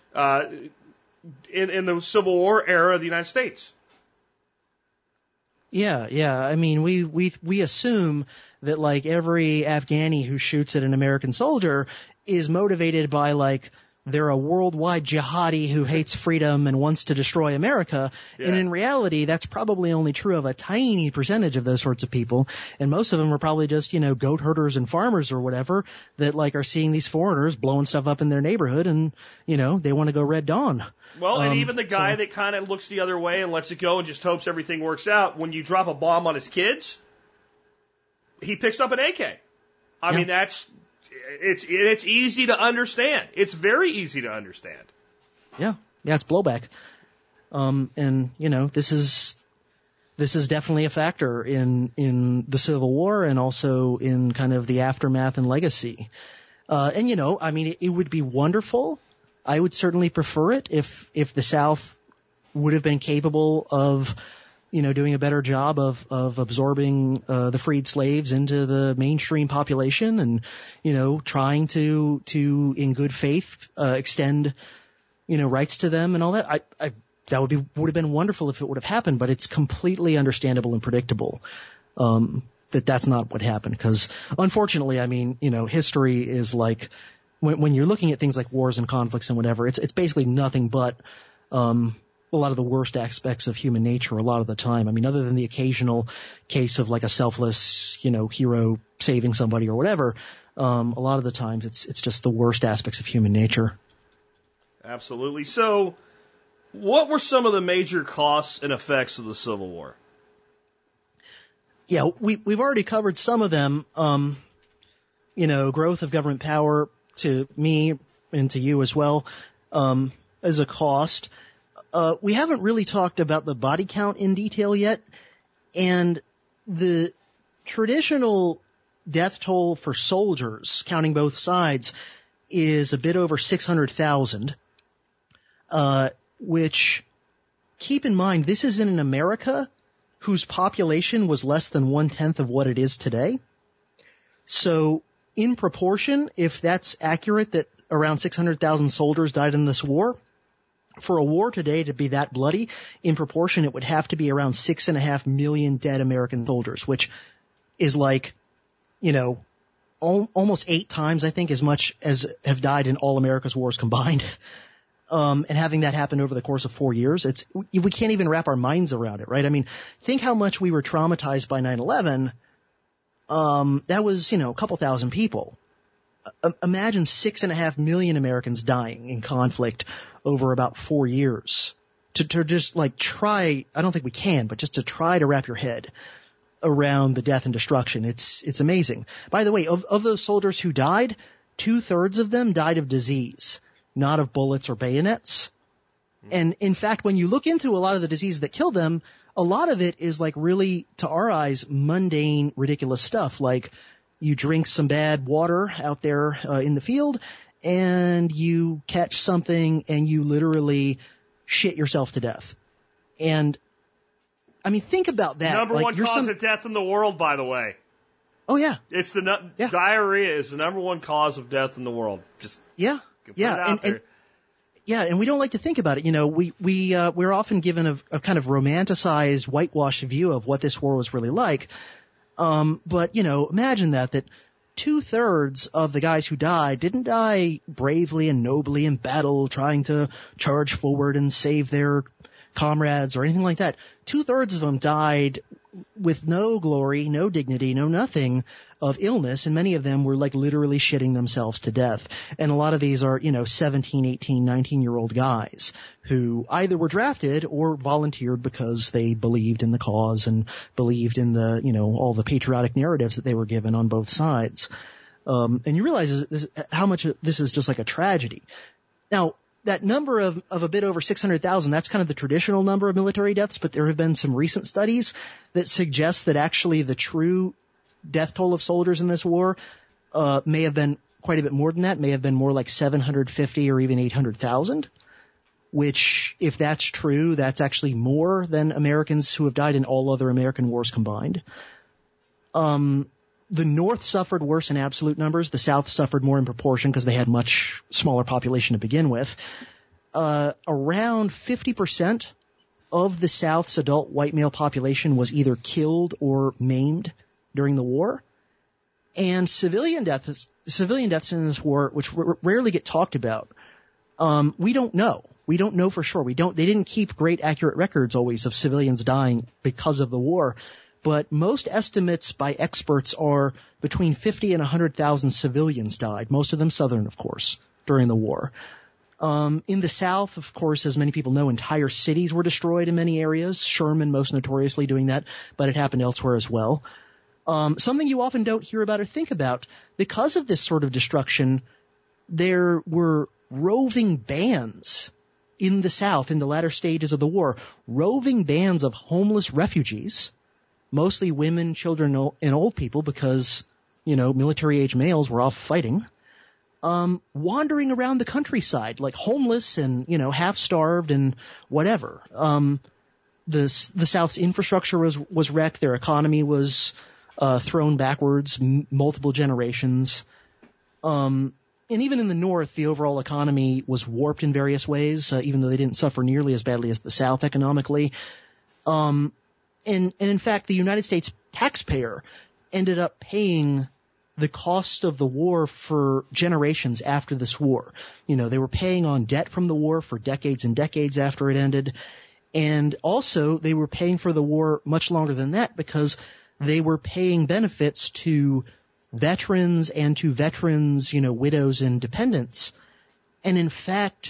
Civil War era of the United States. Yeah. I mean, we assume that like every Afghani who shoots at an American soldier is motivated by like they're a worldwide jihadi who hates freedom and wants to destroy America. Yeah. And in reality, that's probably only true of a tiny percentage of those sorts of people. And most of them are probably just, you know, goat herders and farmers or whatever that like are seeing these foreigners blowing stuff up in their neighborhood and, you know, they want to go Red Dawn. Well, and even the guy that kind of looks the other way and lets it go and just hopes everything works out, when you drop a bomb on his kids, he picks up an AK. I mean, it's easy to understand. It's very easy to understand. Yeah, it's blowback. And you know, this is definitely a factor in the Civil War and also in kind of the aftermath and legacy. And you know, I mean, it would be wonderful. I would certainly prefer it if the South would have been capable of, you know, doing a better job of absorbing the freed slaves into the mainstream population and, you know, trying to in good faith extend, you know, rights to them and all that. That would have been wonderful if it would have happened, but it's completely understandable and predictable that's not what happened, because unfortunately, I mean, you know, history is like when you're looking at things like wars and conflicts and whatever, it's basically nothing but a lot of the worst aspects of human nature a lot of the time. I mean, other than the occasional case of like a selfless, you know, hero saving somebody or whatever, a lot of the times it's just the worst aspects of human nature. Absolutely. So what were some of the major costs and effects of the Civil War? Yeah, we've already covered some of them. You know, growth of government power to me and to you as well, as a cost. We haven't really talked about the body count in detail yet, and the traditional death toll for soldiers, counting both sides, is a bit over 600,000, which, keep in mind, this is in an America whose population was less than 1/10 of what it is today. So, in proportion, if that's accurate that around 600,000 soldiers died in this war, for a war today to be that bloody, in proportion, it would have to be around 6.5 million dead American soldiers, which is like, you know, almost 8 times, I think, as much as have died in all America's wars combined. And having that happen over the course of 4 years, we can't even wrap our minds around it, right? I mean, think how much we were traumatized by 9/11. That was, you know, a couple thousand people. Imagine 6.5 million Americans dying in conflict over about 4 years. to just like try, I don't think we can, but just to try to wrap your head around the death and destruction. It's amazing. By the way, of those soldiers who died, 2/3 of them died of disease, not of bullets or bayonets. And in fact, when you look into a lot of the diseases that kill them, a lot of it is like really, to our eyes, mundane, ridiculous stuff. Like you drink some bad water out there in the field and you catch something and you literally shit yourself to death. And I mean, think about that. Number one cause of death in the world, by the way. Oh yeah. It's diarrhea is the number one cause of death in the world. Just put it out there. And we don't like to think about it. You know, we're often given a kind of romanticized, whitewashed view of what this war was really like. But, you know, imagine that 2/3 of the guys who died didn't die bravely and nobly in battle, trying to charge forward and save their comrades or anything like that. 2/3 of them died with no glory, no dignity, no nothing of illness, and many of them were like literally shitting themselves to death. And a lot of these are, 17, 18, 19-year-old guys who either were drafted or volunteered because they believed in the cause and believed in the, all the patriotic narratives that they were given on both sides. And you realize how much this is just like a tragedy. Now, that number of a bit over 600,000, that's kind of the traditional number of military deaths, but there have been some recent studies that suggest that actually the true death toll of soldiers in this war may have been quite a bit more than that, may have been more like 750 or even 800,000, which, if that's true, that's actually more than Americans who have died in all other American wars combined. The North suffered worse in absolute numbers. The South suffered more in proportion because they had much smaller population to begin with. Around 50% of the South's adult white male population was either killed or maimed during the war. And civilian deaths in this war, which rarely get talked about, we don't know. We don't know for sure. They didn't keep great accurate records always of civilians dying because of the war. But most estimates by experts are between 50 and 100,000 civilians died, most of them Southern, of course, during the war. In the South, of course, as many people know, entire cities were destroyed in many areas, Sherman most notoriously doing that, but it happened elsewhere as well. Something you often don't hear about or think about, because of this sort of destruction, there were roving bands in the South in the latter stages of the war, roving bands of homeless refugees, mostly women, children, and old people because, military-age males were off fighting, wandering around the countryside, like homeless and, half-starved and whatever. The South's infrastructure was wrecked. Their economy was thrown backwards multiple generations. And even in the North, the overall economy was warped in various ways, even though they didn't suffer nearly as badly as the South economically. And in fact, the United States taxpayer ended up paying the cost of the war for generations after this war. They were paying on debt from the war for decades and decades after it ended. And also they were paying for the war much longer than that because they were paying benefits to veterans and to veterans, widows and dependents. And in fact,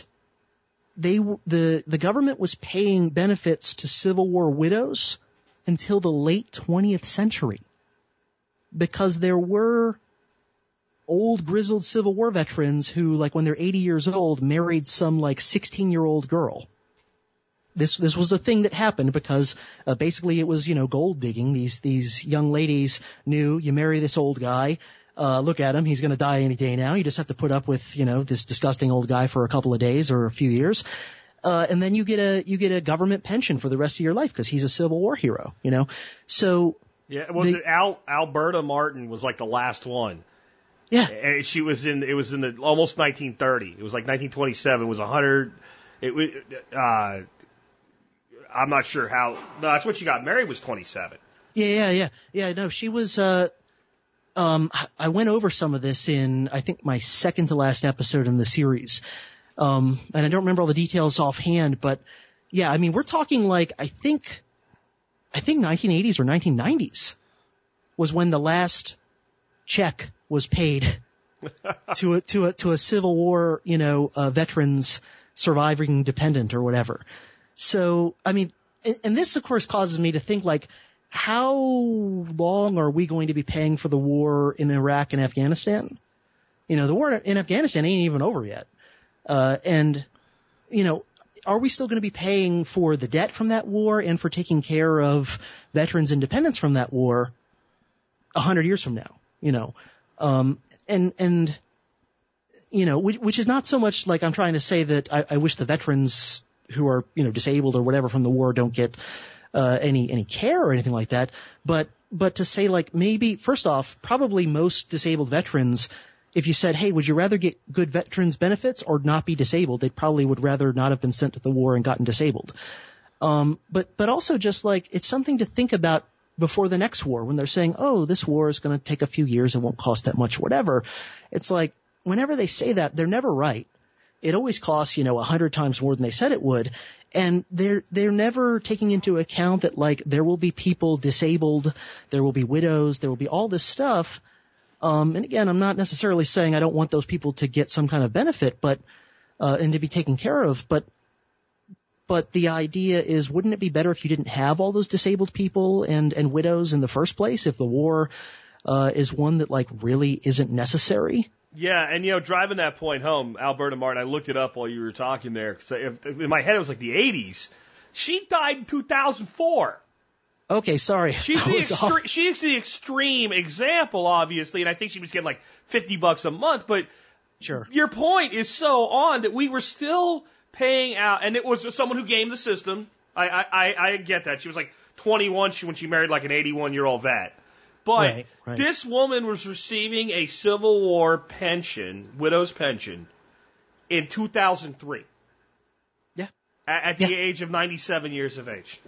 the government was paying benefits to Civil War widows until the late 20th century, because there were old grizzled Civil War veterans who, like when they're 80 years old, married some like 16-year-old girl. This was a thing that happened because basically it was, gold digging. These young ladies knew you marry this old guy, look at him, he's going to die any day now. You just have to put up with, this disgusting old guy for a couple of days or a few years. And then you get a government pension for the rest of your life because he's a Civil War hero, So. Yeah, Alberta Martin was like the last one. Yeah. And it was in the almost 1930. It was like 1927. It was 100. I'm not sure how. No, that's when she got married, was 27. Yeah. No, she was, I went over some of this in, I think, my second to last episode in the series. And I don't remember all the details offhand, but yeah, I mean, we're talking like, I think 1980s or 1990s was when the last check was paid to a Civil War, veterans surviving dependent or whatever. So, I mean, and this of course causes me to think like, how long are we going to be paying for the war in Iraq and Afghanistan? You know, the war in Afghanistan ain't even over yet. And, you know, are we still going to be paying for the debt from that war and for taking care of veterans' independence from that war 100 years from now? You know, and, you know, which is not so much like I'm trying to say that I wish the veterans who are, you know, disabled or whatever from the war don't get any care or anything like that. But to say like maybe, first off, probably most disabled veterans, if you said, hey, would you rather get good veterans benefits or not be disabled? They probably would rather not have been sent to the war and gotten disabled. But also just like it's something to think about before the next war when they're saying, oh, this war is going to take a few years. It won't cost that much, whatever. It's like whenever they say that, they're never right. It always costs, you know, 100 times more than they said it would. And they're never taking into account that like there will be people disabled, there will be widows, there will be all this stuff. And again, I'm not necessarily saying I don't want those people to get some kind of benefit, but, and to be taken care of, but the idea is, wouldn't it be better if you didn't have all those disabled people and widows in the first place if the war, is one that like really isn't necessary? Yeah, and you know, driving that point home, Alberta Martin, I looked it up while you were talking there, because in my head it was like the 80s. She died in 2004. Okay, sorry. She's the extreme example, obviously, and I think she was getting like $50 a month, but sure. Your point is so on that we were still paying out, and it was someone who gamed the system. I get that. She was like 21 when she married like an 81-year-old vet. But right. This woman was receiving a Civil War pension, widow's pension, in 2003. Yeah. At the age of 97 years of age.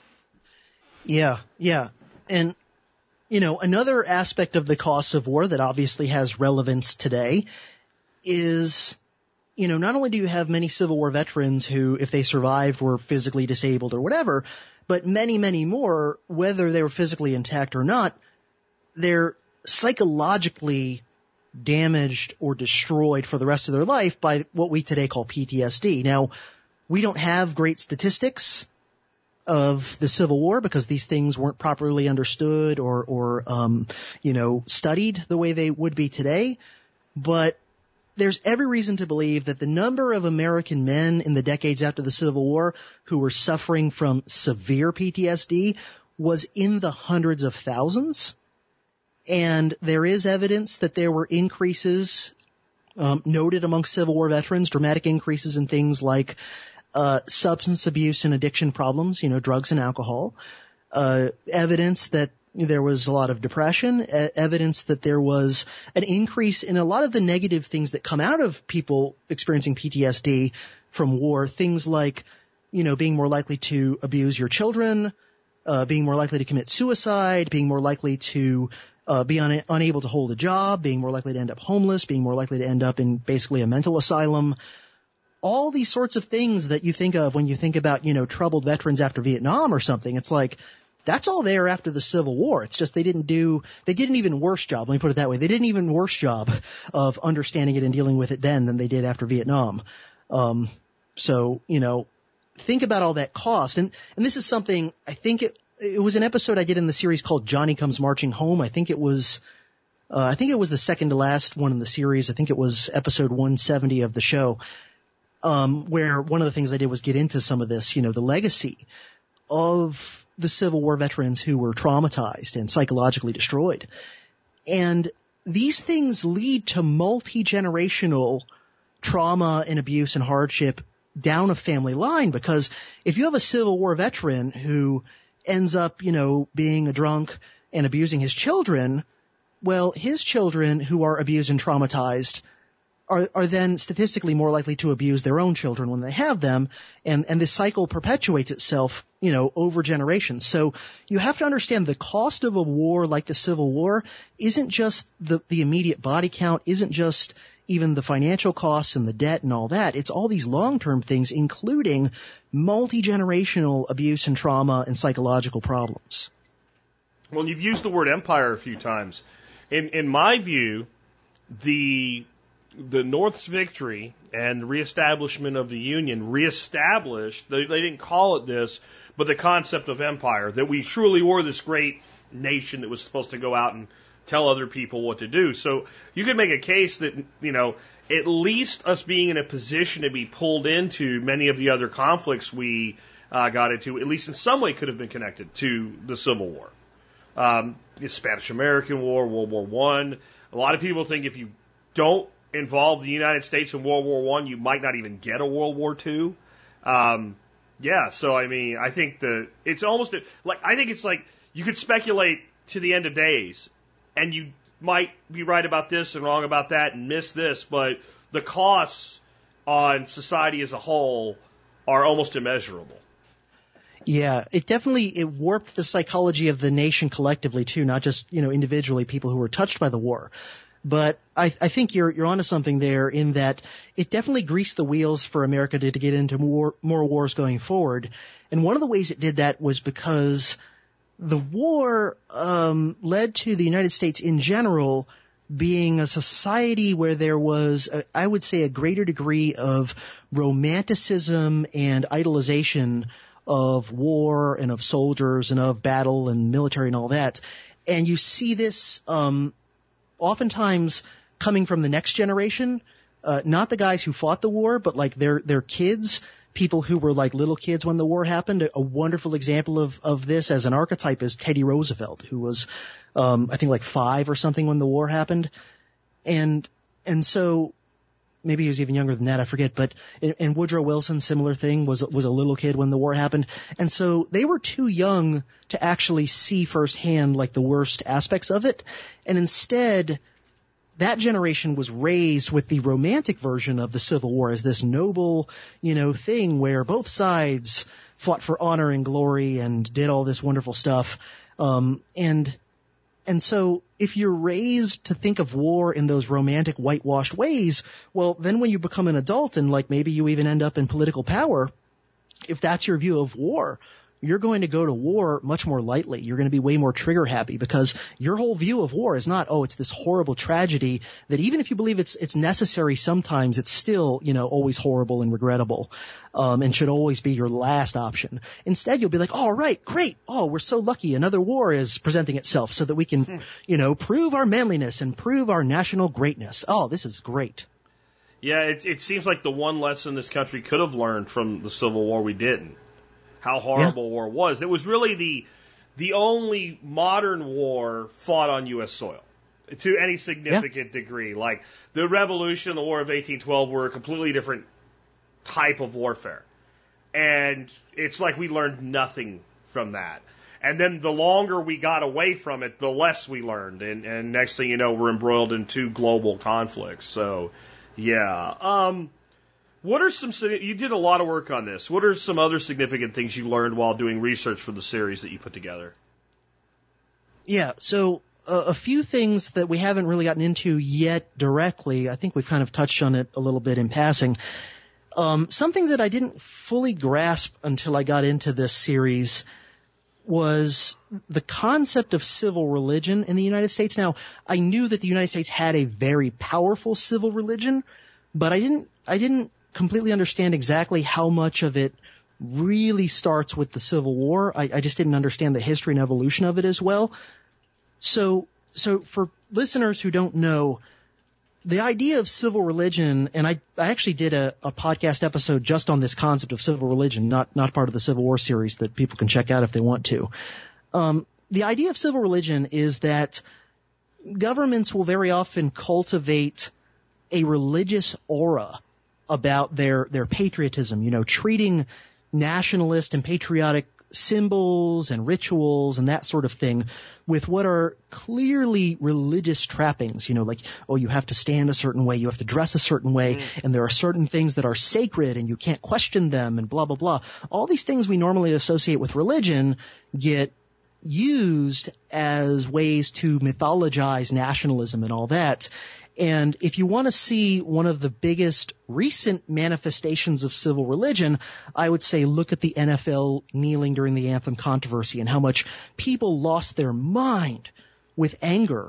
Yeah. And, you know, another aspect of the costs of war that obviously has relevance today is, you know, not only do you have many Civil War veterans who, if they survived, were physically disabled or whatever, but many, many more, whether they were physically intact or not, they're psychologically damaged or destroyed for the rest of their life by what we today call PTSD. Now, we don't have great statistics of the Civil War because these things weren't properly understood or you know, studied the way they would be today. But there's every reason to believe that the number of American men in the decades after the Civil War who were suffering from severe PTSD was in the hundreds of thousands. And there is evidence that there were increases noted among Civil War veterans, dramatic increases in things like substance abuse and addiction problems, you know, drugs and alcohol, evidence that there was a lot of depression, evidence that there was an increase in a lot of the negative things that come out of people experiencing PTSD from war, things like, you know, being more likely to abuse your children, being more likely to commit suicide, being more likely to be unable to hold a job, being more likely to end up homeless, being more likely to end up in basically a mental asylum. All these sorts of things that you think of when you think about, you know, troubled veterans after Vietnam or something. It's like, that's all there after the Civil War. It's just they did an even worse job. Let me put it that way. They did an even worse job of understanding it and dealing with it then than they did after Vietnam. So, you know, think about all that cost. And this is something, I think it was an episode I did in the series called Johnny Comes Marching Home. I think it was the second to last one in the series. I think it was episode 170 of the show, where one of the things I did was get into some of this, you know, the legacy of the Civil War veterans who were traumatized and psychologically destroyed. And these things lead to multi-generational trauma and abuse and hardship down a family line, because if you have a Civil War veteran who ends up, you know, being a drunk and abusing his children, well, his children who are abused and traumatized are then statistically more likely to abuse their own children when they have them, and this cycle perpetuates itself, you know, over generations. So you have to understand the cost of a war like the Civil War isn't just the immediate body count, isn't just even the financial costs and the debt and all that. It's all these long-term things, including multi-generational abuse and trauma and psychological problems. Well, you've used the word empire a few times. In my view, the the North's victory and reestablishment of the Union reestablished, they didn't call it this, but the concept of empire, that we truly were this great nation that was supposed to go out and tell other people what to do. So you could make a case that, at least us being in a position to be pulled into many of the other conflicts we got into, at least in some way could have been connected to the Civil War. The Spanish-American War, World War I. A lot of people think if you don't involve the United States in World War I, you might not even get a World War II. So I think it's almost like, I think it's like you could speculate to the end of days, and you might be right about this and wrong about that and miss this, but the costs on society as a whole are almost immeasurable. Yeah, it warped the psychology of the nation collectively too, not just, individually people who were touched by the war. But I think you're onto something there in that it definitely greased the wheels for America to get into more wars going forward. And one of the ways it did that was because the war led to the United States in general being a society where there was, I would say, a greater degree of romanticism and idolization of war and of soldiers and of battle and military and all that. And you see this oftentimes coming from the next generation, not the guys who fought the war, but like their kids, people who were like little kids when the war happened. A wonderful example of this as an archetype is Teddy Roosevelt, who was, I think like 5 or something when the war happened. And so maybe he was even younger than that, I forget, but and Woodrow Wilson, similar thing, was a little kid when the war happened. And so they were too young to actually see firsthand like the worst aspects of it. And instead, that generation was raised with the romantic version of the Civil War as this noble, thing where both sides fought for honor and glory and did all this wonderful stuff. And so if you're raised to think of war in those romantic whitewashed ways, well, then when you become an adult and like maybe you even end up in political power, if that's your view of war, you're going to go to war much more lightly. You're going to be way more trigger happy because your whole view of war is not, it's this horrible tragedy that even if you believe it's necessary sometimes, it's still, always horrible and regrettable, and should always be your last option. Instead, you'll be like, all right, great. Oh, we're so lucky. Another war is presenting itself so that we can, prove our manliness and prove our national greatness. Oh, this is great. Yeah, it seems like the one lesson this country could have learned from the Civil War we didn't. How horrible war was. It was really the only modern war fought on U.S. soil to any significant degree. Like the Revolution, the War of 1812 were a completely different type of warfare. And it's like we learned nothing from that. And then the longer we got away from it, the less we learned. And next thing you know, we're embroiled in 2 global conflicts. So, yeah. What are you did a lot of work on this. What are some other significant things you learned while doing research for the series that you put together? Yeah, so a few things that we haven't really gotten into yet directly. I think we've kind of touched on it a little bit in passing. Something that I didn't fully grasp until I got into this series was the concept of civil religion in the United States. Now, I knew that the United States had a very powerful civil religion, but I didn't completely understand exactly how much of it really starts with the Civil War. I just didn't understand the history and evolution of it as well. So for listeners who don't know, the idea of civil religion, and I actually did a podcast episode just on this concept of civil religion, not part of the Civil War series that people can check out if they want to. The idea of civil religion is that governments will very often cultivate a religious aura about their patriotism, treating nationalist and patriotic symbols and rituals and that sort of thing with what are clearly religious trappings, like, you have to stand a certain way, you have to dress a certain way, and there are certain things that are sacred and you can't question them and blah, blah, blah. All these things we normally associate with religion get used as ways to mythologize nationalism and all that. And if you want to see one of the biggest recent manifestations of civil religion, I would say look at the NFL kneeling during the anthem controversy and how much people lost their mind with anger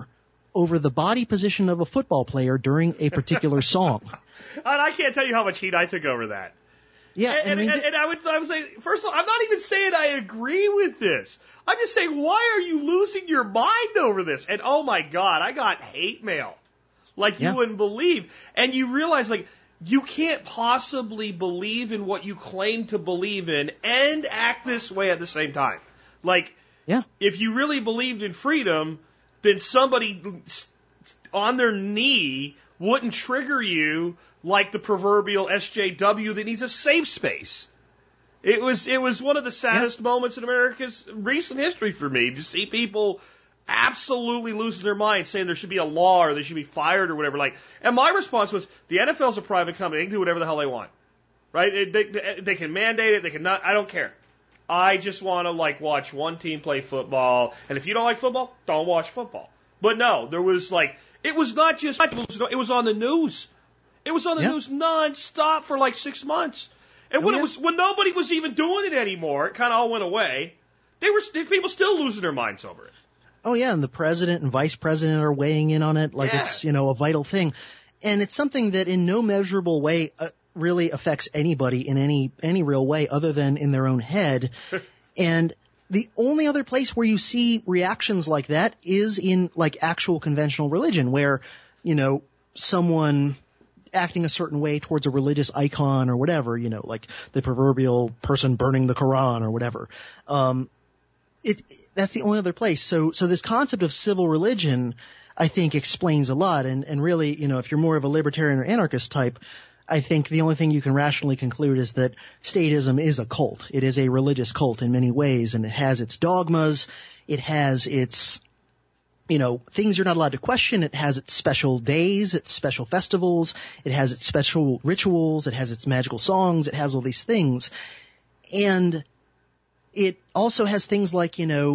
over the body position of a football player during a particular song. And I can't tell you how much heat I took over that. Yeah, and I would say, first of all, I'm not even saying I agree with this. I'm just saying, why are you losing your mind over this? And oh my God, I got hate mail like you wouldn't believe. And you realize, like, you can't possibly believe in what you claim to believe in and act this way at the same time. Like, if you really believed in freedom, then somebody on their knee wouldn't trigger you like the proverbial SJW that needs a safe space. It was one of the saddest moments in America's recent history for me to see people absolutely losing their minds, saying there should be a law or they should be fired or whatever. Like, and my response was, the NFL's a private company; they can do whatever the hell they want, right? They can mandate it, they can not. I don't care. I just want to like watch one team play football, and if you don't like football, don't watch football. But no, there was like, it was not just, it was on the news. It was on the news nonstop for like 6 months. And when nobody was even doing it anymore, it kind of all went away. People still losing their minds over it. Oh yeah, and the president and vice president are weighing in on it like it's, a vital thing. And it's something that in no measurable way really affects anybody in any real way other than in their own head. And the only other place where you see reactions like that is in like actual conventional religion where, someone acting a certain way towards a religious icon or whatever, like the proverbial person burning the Quran or whatever. That's the only other place. So this concept of civil religion, I think, explains a lot. And really, if you're more of a libertarian or anarchist type, I think the only thing you can rationally conclude is that statism is a cult. It is a religious cult in many ways, and it has its dogmas. It has its, things you're not allowed to question. It has its special days, its special festivals. It has its special rituals. It has its magical songs. It has all these things. And it also has things like,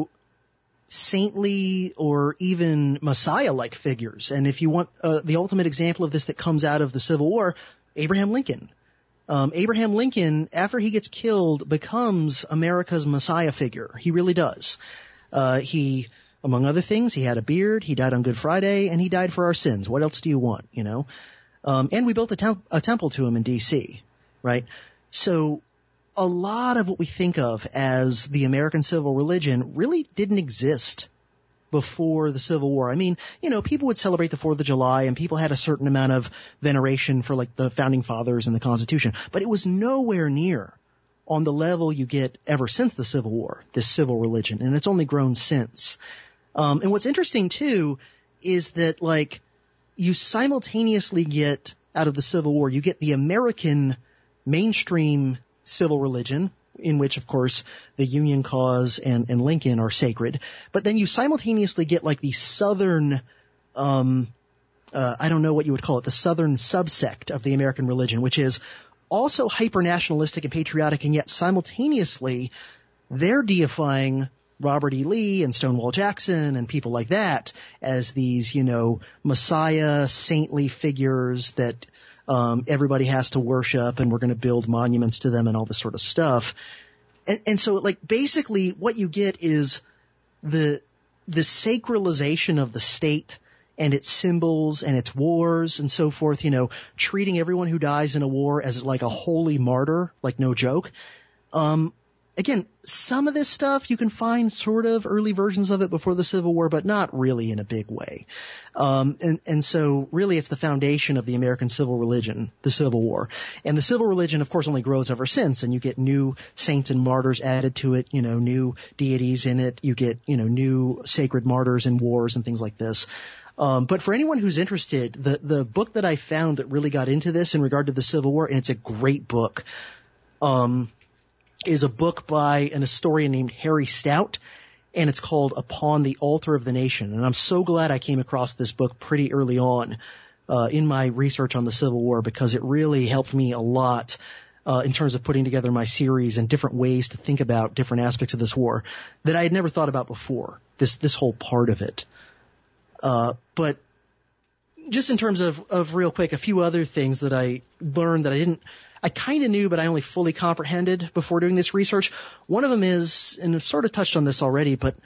saintly or even Messiah-like figures. And if you want the ultimate example of this that comes out of the Civil War, Abraham Lincoln. Abraham Lincoln, after he gets killed, becomes America's Messiah figure. He really does. He, among other things, he had a beard, he died on Good Friday, and he died for our sins. What else do you want, And we built a temple to him in D.C., right? So a lot of what we think of as the American civil religion really didn't exist before the Civil War. I mean, people would celebrate the 4th of July and people had a certain amount of veneration for like the founding fathers and the Constitution, but it was nowhere near on the level you get ever since the Civil War, this civil religion, and it's only grown since. And what's interesting too is that like you simultaneously get out of the Civil War, you get the American mainstream civil religion, in which, of course, the Union cause and Lincoln are sacred. But then you simultaneously get like the Southern, I don't know what you would call it, the Southern subsect of the American religion, which is also hyper-nationalistic and patriotic, and yet simultaneously they're deifying Robert E. Lee and Stonewall Jackson and people like that as these, Messiah, saintly figures that everybody has to worship, and we're going to build monuments to them and all this sort of stuff. And so like basically what you get is the sacralization of the state and its symbols and its wars and so forth, treating everyone who dies in a war as like a holy martyr, like no joke. Again, some of this stuff you can find sort of early versions of it before the Civil War, but not really in a big way. And so really it's the foundation of the American civil religion, the Civil War. And the civil religion, of course, only grows ever since, and you get new saints and martyrs added to it, new deities in it. You get, new sacred martyrs in wars and things like this. But for anyone who's interested, the book that I found that really got into this in regard to the Civil War, and it's a great book, is a book by an historian named Harry Stout, and it's called Upon the Altar of the Nation. And I'm so glad I came across this book pretty early on in my research on the Civil War, because it really helped me a lot in terms of putting together my series and different ways to think about different aspects of this war that I had never thought about before, this whole part of it. But just in terms of real quick, a few other things that I learned that I kind of knew, but I only fully comprehended before doing this research. One of them is, and I've sort of touched on this already, but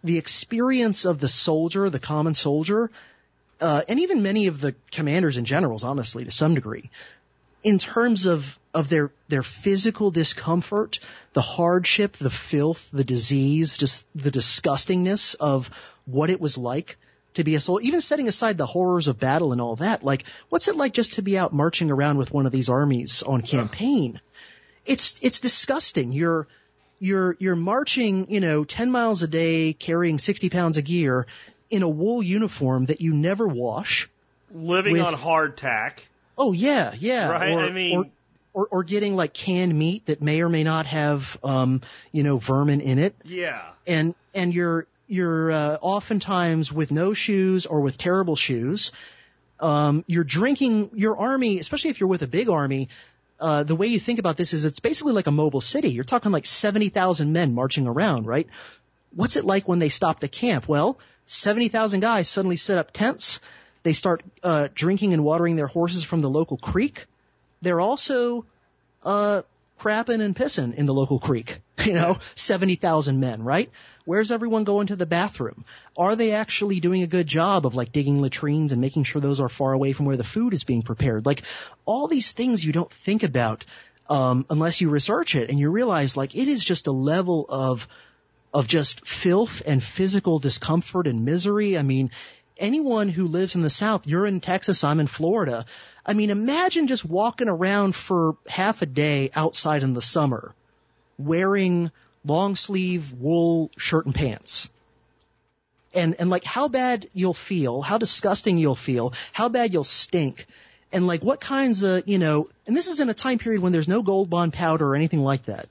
the experience of the soldier, the common soldier, and even many of the commanders and generals, honestly, to some degree, in terms of their physical discomfort, the hardship, the filth, the disease, just the disgustingness of what it was like to be a soldier, even setting aside the horrors of battle and all that. Like, what's it like just to be out marching around with one of these armies on campaign? It's disgusting. You're marching, 10 miles a day, carrying 60 pounds of gear in a wool uniform that you never wash. Living on hardtack. Oh, yeah, yeah. Right? Or getting like canned meat that may or may not have, vermin in it. Yeah. And you're oftentimes with no shoes or with terrible shoes. You're drinking your army, especially if you're with a big army. The way you think about this is it's basically like a mobile city. You're talking like 70,000 men marching around, right? What's it like when they stop to camp? Well, 70,000 guys suddenly set up tents. They start drinking and watering their horses from the local creek. They're also crapping and pissing in the local creek. 70,000 men, right? Where's everyone going to the bathroom? Are they actually doing a good job of like digging latrines and making sure those are far away from where the food is being prepared? Like all these things you don't think about unless you research it, and you realize like it is just a level of just filth and physical discomfort and misery. I mean, anyone who lives in the South, you're in Texas, I'm in Florida. I mean, imagine just walking around for half a day outside in the summer wearing long sleeve wool shirt and pants. And like how bad you'll feel, how disgusting you'll feel, how bad you'll stink. And like what kinds of, and this is in a time period when there's no Gold Bond powder or anything like that.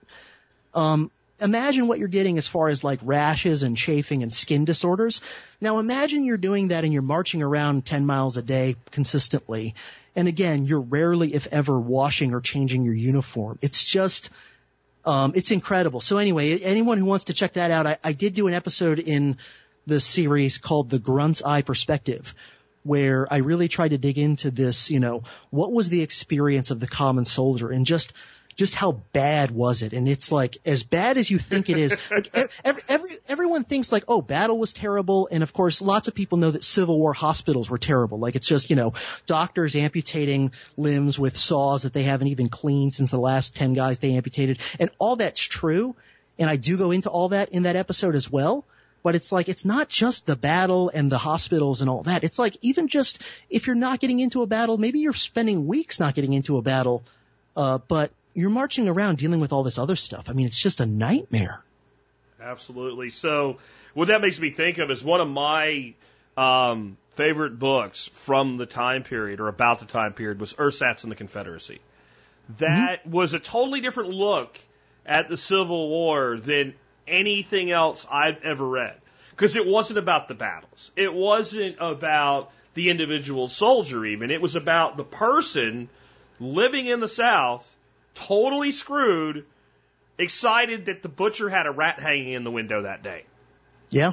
Imagine what you're getting as far as like rashes and chafing and skin disorders. Now imagine you're doing that and you're marching around 10 miles a day consistently. And again, you're rarely, if ever, washing or changing your uniform. It's just, it's incredible. So anyway, anyone who wants to check that out, I did do an episode in the series called The Grunt's Eye Perspective, where I really tried to dig into this, what was the experience of the common soldier and just how bad was it? And it's like as bad as you think it is. Like everyone thinks like, oh, battle was terrible. And of course, lots of people know that Civil War hospitals were terrible. Like it's just, doctors amputating limbs with saws that they haven't even cleaned since the last 10 guys they amputated. And all that's true. And I do go into all that in that episode as well. But it's like, it's not just the battle and the hospitals and all that. It's like even just if you're not getting into a battle, maybe you're spending weeks not getting into a battle, but you're marching around dealing with all this other stuff. I mean, it's just a nightmare. Absolutely. So what that makes me think of is one of my favorite books from the time period or about the time period was Ersatz and the Confederacy. That was a totally different look at the Civil War than anything else I've ever read. Because it wasn't about the battles. It wasn't about the individual soldier even. It was about the person living in the South, totally screwed, excited that the butcher had a rat hanging in the window that day. Yeah.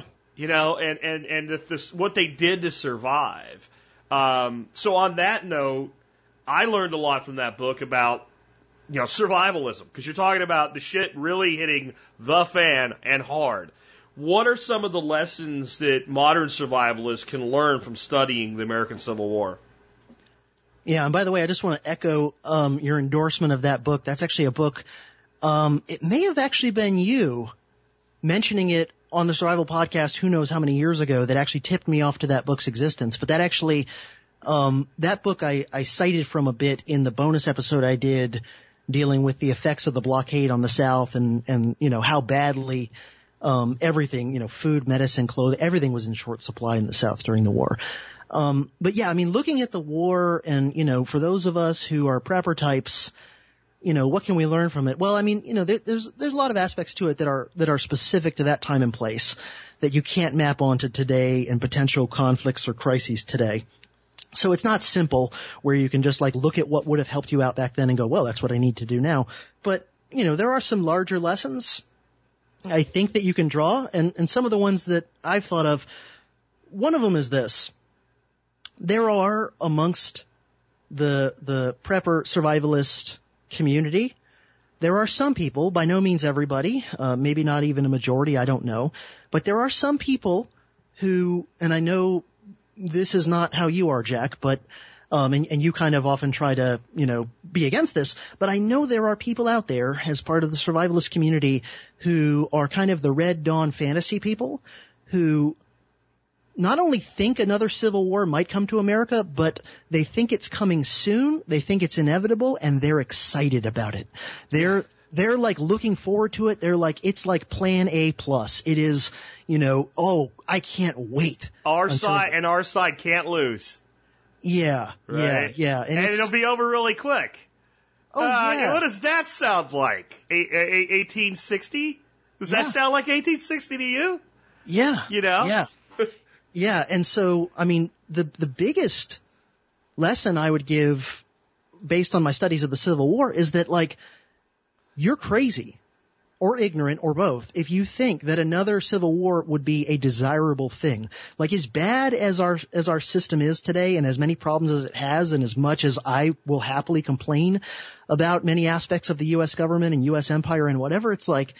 And if this, what they did to survive. So on that note, I learned a lot from that book about, survivalism, because you're talking about the shit really hitting the fan and hard. What are some of the lessons that modern survivalists can learn from studying the American Civil War? Yeah, and by the way, I just want to echo your endorsement of that book. That's actually a book. It may have actually been you mentioning it on the Survival Podcast, who knows how many years ago, that actually tipped me off to that book's existence. But that actually, that book I cited from a bit in the bonus episode I did dealing with the effects of the blockade on the South and how badly everything, food, medicine, clothing, everything was in short supply in the South during the war. But yeah, I mean, looking at the war and, for those of us who are prepper types, what can we learn from it? Well, I mean, there's a lot of aspects to it that are specific to that time and place that you can't map onto today and potential conflicts or crises today. So it's not simple where you can just like look at what would have helped you out back then and go, well, that's what I need to do now. But, there are some larger lessons I think that you can draw, and some of the ones that I've thought of, one of them is this. There are amongst the prepper survivalist community, there are some people, by no means everybody, maybe not even a majority, I don't know, but there are some people who, and I know this is not how you are, Jack, but and you kind of often try to, be against this, but I know there are people out there as part of the survivalist community who are kind of the Red Dawn fantasy people who not only think another civil war might come to America, but they think it's coming soon, they think it's inevitable, and they're excited about it. They're like looking forward to it. They're like, it's like plan A plus. It is, oh, I can't wait. Our side can't lose. Yeah, right? yeah. And it'll be over really quick. Oh, yeah. What does that sound like? 1860? Does that sound like 1860 to you? Yeah. Yeah. Yeah. And so, I mean, the biggest lesson I would give based on my studies of the Civil War is that, like, you're crazy or ignorant or both if you think that another civil war would be a desirable thing. Like, as bad as our system is today and as many problems as it has, and as much as I will happily complain about many aspects of the U.S. government and U.S. empire and whatever, it's like,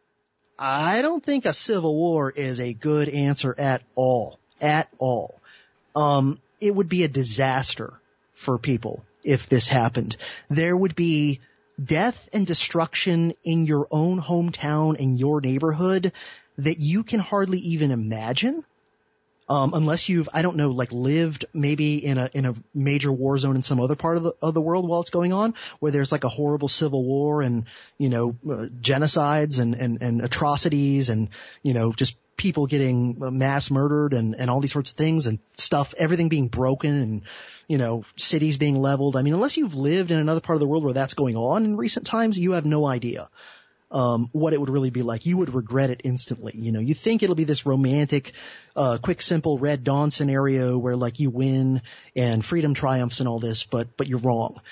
I don't think a civil war is a good answer at all. At all. It would be a disaster for people if this happened. There would be death and destruction in your own hometown and your neighborhood that you can hardly even imagine. Unless you've, I don't know, like lived maybe in a major war zone in some other part of the world while it's going on, where there's like a horrible civil war and, genocides and atrocities and, just people getting mass murdered and all these sorts of things and stuff, everything being broken and, cities being leveled. I mean, unless you've lived in another part of the world where that's going on in recent times, you have no idea what it would really be like. You would regret it instantly. You think it'll be this romantic, quick, simple Red Dawn scenario where like you win and freedom triumphs and all this, but you're wrong.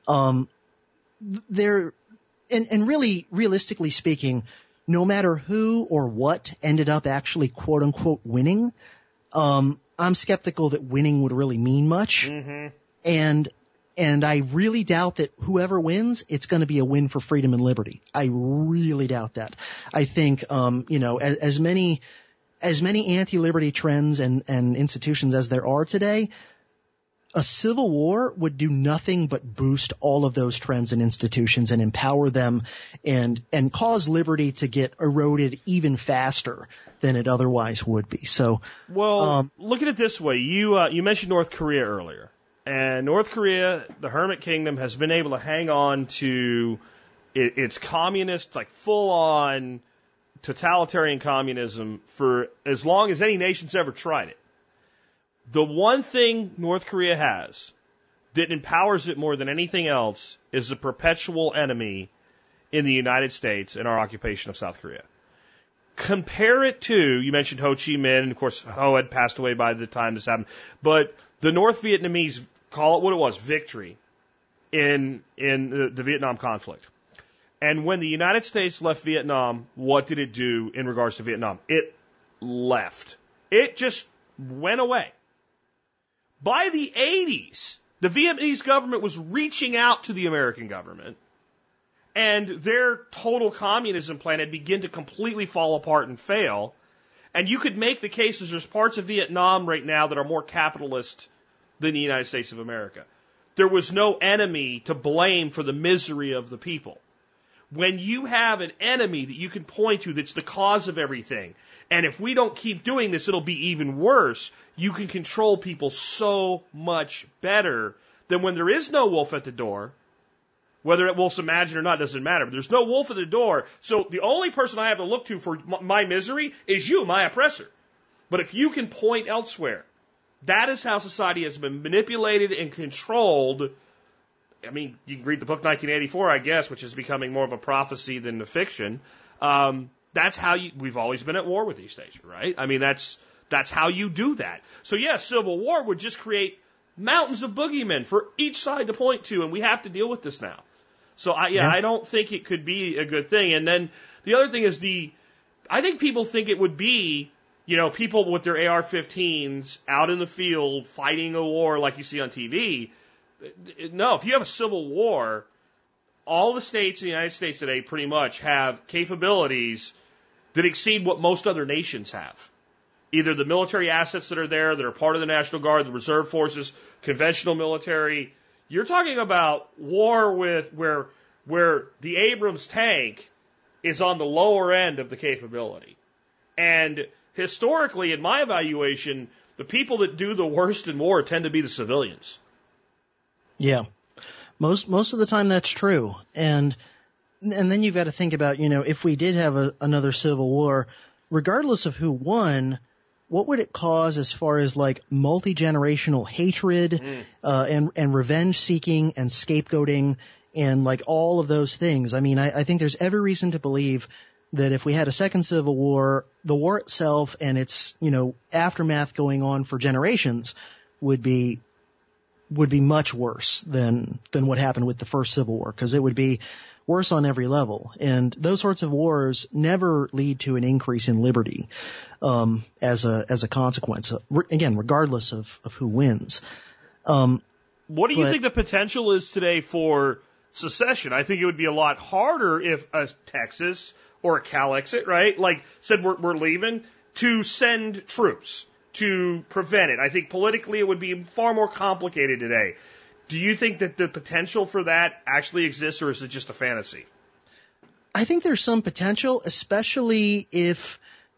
And really, realistically speaking, no matter who or what ended up actually quote unquote winning, I'm skeptical that winning would really mean much. Mm-hmm. And I really doubt that whoever wins, it's going to be a win for freedom and liberty. I really doubt that. I think, as many anti-liberty trends and institutions as there are today, a civil war would do nothing but boost all of those trends and institutions and empower them and cause liberty to get eroded even faster than it otherwise would be. So, well, look at it this way. You mentioned North Korea earlier. And North Korea, the Hermit Kingdom, has been able to hang on to its communist, like full-on totalitarian communism for as long as any nation's ever tried it. The one thing North Korea has that empowers it more than anything else is the perpetual enemy in the United States and our occupation of South Korea. Compare it to, you mentioned Ho Chi Minh, and of course Ho had passed away by the time this happened, but the North Vietnamese, call it what it was, victory in the Vietnam conflict. And when the United States left Vietnam, what did it do in regards to Vietnam? It left. It just went away. By the 80s, the Vietnamese government was reaching out to the American government, and their total communism plan had begun to completely fall apart and fail. And you could make the case that there's parts of Vietnam right now that are more capitalist than the United States of America. There was no enemy to blame for the misery of the people. When you have an enemy that you can point to that's the cause of everything, and if we don't keep doing this, it'll be even worse, you can control people so much better than when there is no wolf at the door. Whether it wolf's imagined or not doesn't matter, but there's no wolf at the door, so the only person I have to look to for my misery is you, my oppressor. But if you can point elsewhere, that is how society has been manipulated and controlled. I mean, you can read the book 1984, I guess, which is becoming more of a prophecy than a fiction. That's how we've always been at war with East Asia, right? I mean, that's how you do that. So yeah, civil war would just create mountains of boogeymen for each side to point to, and we have to deal with this now. So I don't think it could be a good thing. And then the other thing is I think people think it would be, people with their AR-15s out in the field fighting a war like you see on TV. No, if you have a civil war, all the states in the United States today pretty much have capabilities that exceed what most other nations have. Either the military assets that are there, that are part of the National Guard, the reserve forces, conventional military. You're talking about war with where the Abrams tank is on the lower end of the capability. And historically, in my evaluation, the people that do the worst in war tend to be the civilians. Yeah. Most of the time that's true. And then you've got to think about, if we did have another civil war, regardless of who won, what would it cause as far as like multi-generational hatred, and revenge seeking and scapegoating and like all of those things? I mean, I think there's every reason to believe that if we had a second civil war, the war itself and its, aftermath going on for generations would be much worse than what happened with the first Civil War, because it would be worse on every level. And those sorts of wars never lead to an increase in liberty, as a consequence, again, regardless of who wins. What do you think the potential is today for secession? I think it would be a lot harder if a Texas or a Calexit, right, like said we're leaving, to send troops to prevent it. I think politically it would be far more complicated today. Do you think that the potential for that actually exists, or is it just a fantasy? I think there's some potential, especially if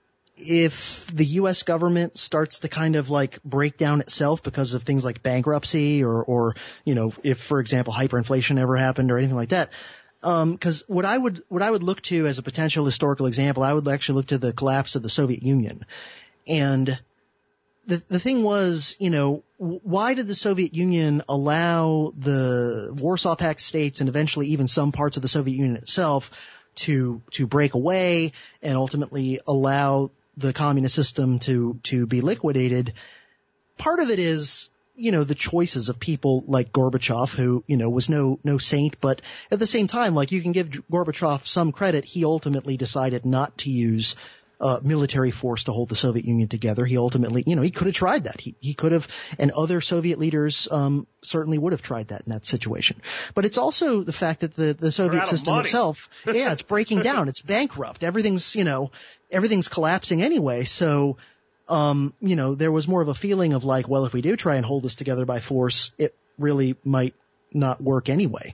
the U.S. government starts to kind of like break down itself because of things like bankruptcy or if, for example, hyperinflation ever happened or anything like that. Because what I would look to as a potential historical example, I would actually look to the collapse of the Soviet Union. And the thing was, why did the Soviet Union allow the Warsaw Pact states and eventually even some parts of the Soviet Union itself to break away and ultimately allow the communist system to be liquidated? Part of it is, the choices of people like Gorbachev, who, was no saint, but at the same time, like, you can give Gorbachev some credit. He ultimately decided not to use military force to hold the Soviet Union together. He ultimately, he could have tried that. He could have, and other Soviet leaders certainly would have tried that in that situation. But it's also the fact that the Soviet system itself, it's breaking down. It's bankrupt. Everything's collapsing anyway. So, there was more of a feeling of like, well, if we do try and hold this together by force, it really might not work anyway.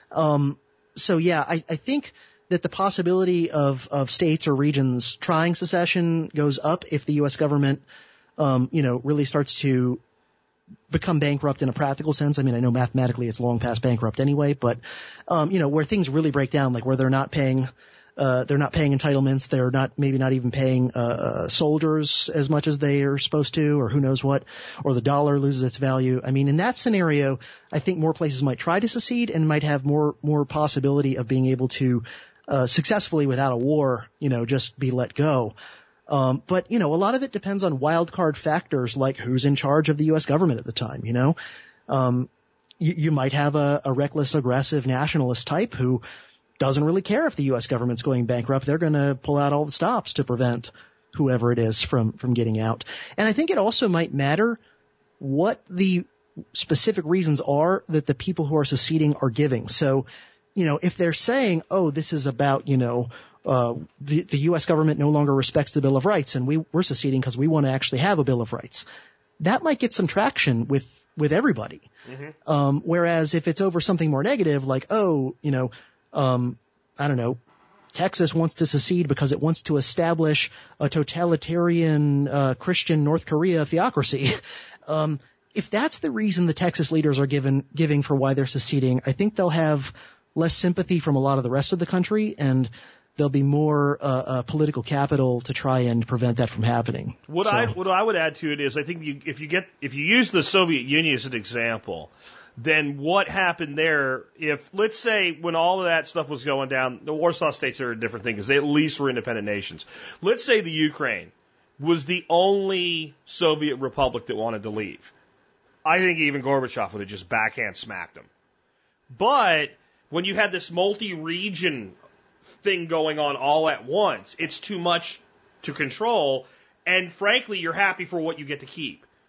So yeah, I think that the possibility of states or regions trying secession goes up if the U.S. government, really starts to become bankrupt in a practical sense. I mean, I know mathematically it's long past bankrupt anyway, but, where things really break down, like where they're not paying entitlements, they're maybe not even paying, soldiers as much as they are supposed to, or who knows what, or the dollar loses its value. I mean, in that scenario, I think more places might try to secede and might have more possibility of being able to successfully without a war, just be let go. But, a lot of it depends on wild card factors like who's in charge of the U.S. government at the time, You might have a reckless, aggressive nationalist type who doesn't really care if the U.S. government's going bankrupt. They're going to pull out all the stops to prevent whoever it is from getting out. And I think it also might matter what the specific reasons are that the people who are seceding are giving. So, if they're saying, oh, this is about, the U.S. government no longer respects the Bill of Rights and we're seceding because we want to actually have a Bill of Rights, that might get some traction with everybody. Mm-hmm. Whereas if it's over something more negative, like, I don't know, Texas wants to secede because it wants to establish a totalitarian Christian North Korea theocracy. If that's the reason the Texas leaders are giving for why they're seceding, I think they'll have less sympathy from a lot of the rest of the country, and there'll be more political capital to try and prevent that from happening. What I would add to it is, I think if you use the Soviet Union as an example, then what happened there, if, let's say, when all of that stuff was going down, the Warsaw states are a different thing because they at least were independent nations. Let's say the Ukraine was the only Soviet republic that wanted to leave. I think even Gorbachev would have just backhand smacked them. But when you had this multi-region thing going on all at once, it's too much to control, and frankly, you're happy for what you get to keep.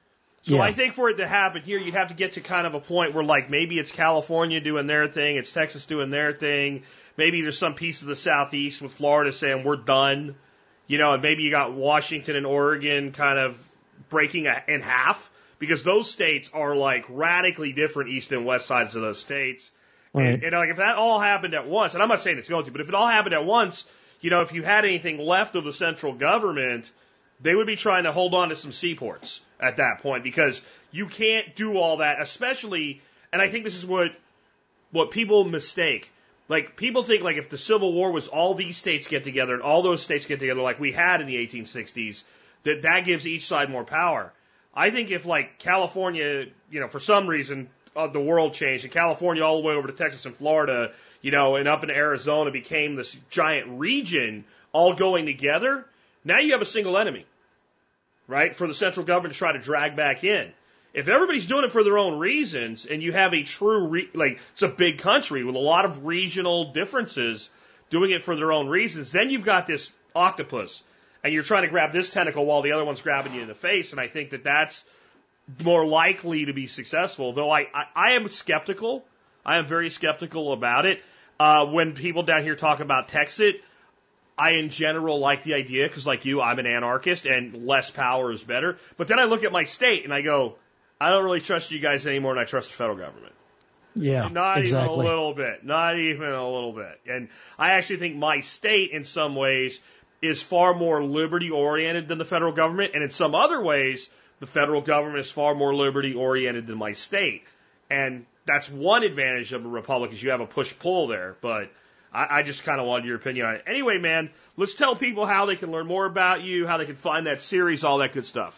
So Yeah. I think for it to happen here, you'd have to get to kind of a point where, like, maybe it's California doing their thing, it's Texas doing their thing, maybe there's some piece of the Southeast with Florida saying we're done, you know, and maybe you got Washington and Oregon kind of breaking in half, because those states are like radically different east and west sides of those states. Right. And like if that all happened at once, and I'm not saying it's going to, but if it all happened at once, you know, if you had anything left of the central government, they would be trying to hold on to some seaports at that point, because you can't do all that, especially, and I think this is what people mistake. Like, people think, like, if the Civil War was all these states get together and all those states get together like we had in the 1860s, that gives each side more power. I think if, like, California, you know, for some reason, the world changed, and California all the way over to Texas and Florida, you know, and up in Arizona became this giant region all going together, now you have a single enemy, right, for the central government to try to drag back in. If everybody's doing it for their own reasons, and you have a true, like, it's a big country with a lot of regional differences doing it for their own reasons, then you've got this octopus, and you're trying to grab this tentacle while the other one's grabbing you in the face, and I think that that's more likely to be successful, though I am skeptical. I am very skeptical about it. When people down here talk about Texit, I in general like the idea, because like you, I'm an anarchist, and less power is better. But then I look at my state, and I go, I don't really trust you guys anymore than I trust the federal government. Yeah, Not exactly. even a little bit. Not even a little bit. And I actually think my state, in some ways, is far more liberty-oriented than the federal government. And in some other ways, the federal government is far more liberty-oriented than my state. And that's one advantage of a republic, is you have a push-pull there. But I just kind of wanted your opinion on it. Anyway, man, let's tell people how they can learn more about you, how they can find that series, all that good stuff.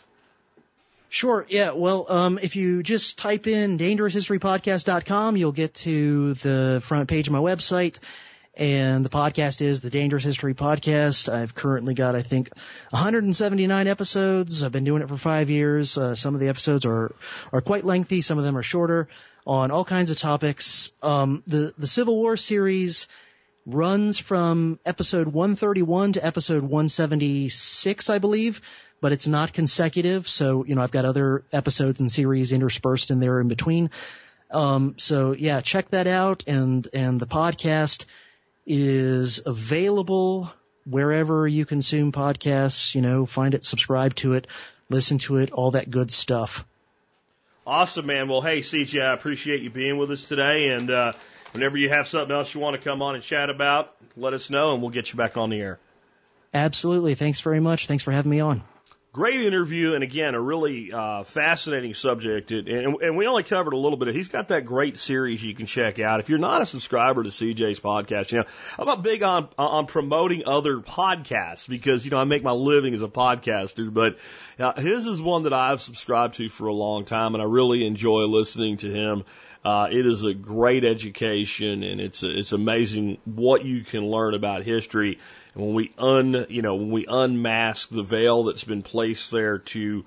Sure. Yeah. Well, if you just type in dangeroushistorypodcast.com, you'll get to the front page of my website. And the podcast is the Dangerous History Podcast. I've currently got, I think, 179 episodes. I've been doing it for 5 years. Some of the episodes are quite lengthy. Some of them are shorter, on all kinds of topics. The Civil War series runs from episode 131 to episode 176, I believe, but it's not consecutive. So, you know, I've got other episodes and series interspersed in there in between. So yeah, check that out. And the podcast is available wherever you consume podcasts. You know, find it, subscribe to it, listen to it, all that good stuff. Awesome, man. Well, hey, CJ, I appreciate you being with us today. And whenever you have something else you want to come on and chat about, let us know, and we'll get you back on the air. Absolutely. Thanks very much. Thanks for having me on. Great interview, and again, a really fascinating subject. And we only covered a little bit. He's got that great series you can check out. If you're not a subscriber to CJ's podcast, you know, I'm not big on promoting other podcasts, because, you know, I make my living as a podcaster, but his is one that I've subscribed to for a long time, and I really enjoy listening to him. It is a great education, and it's amazing what you can learn about history. And when we unmask the veil that's been placed there to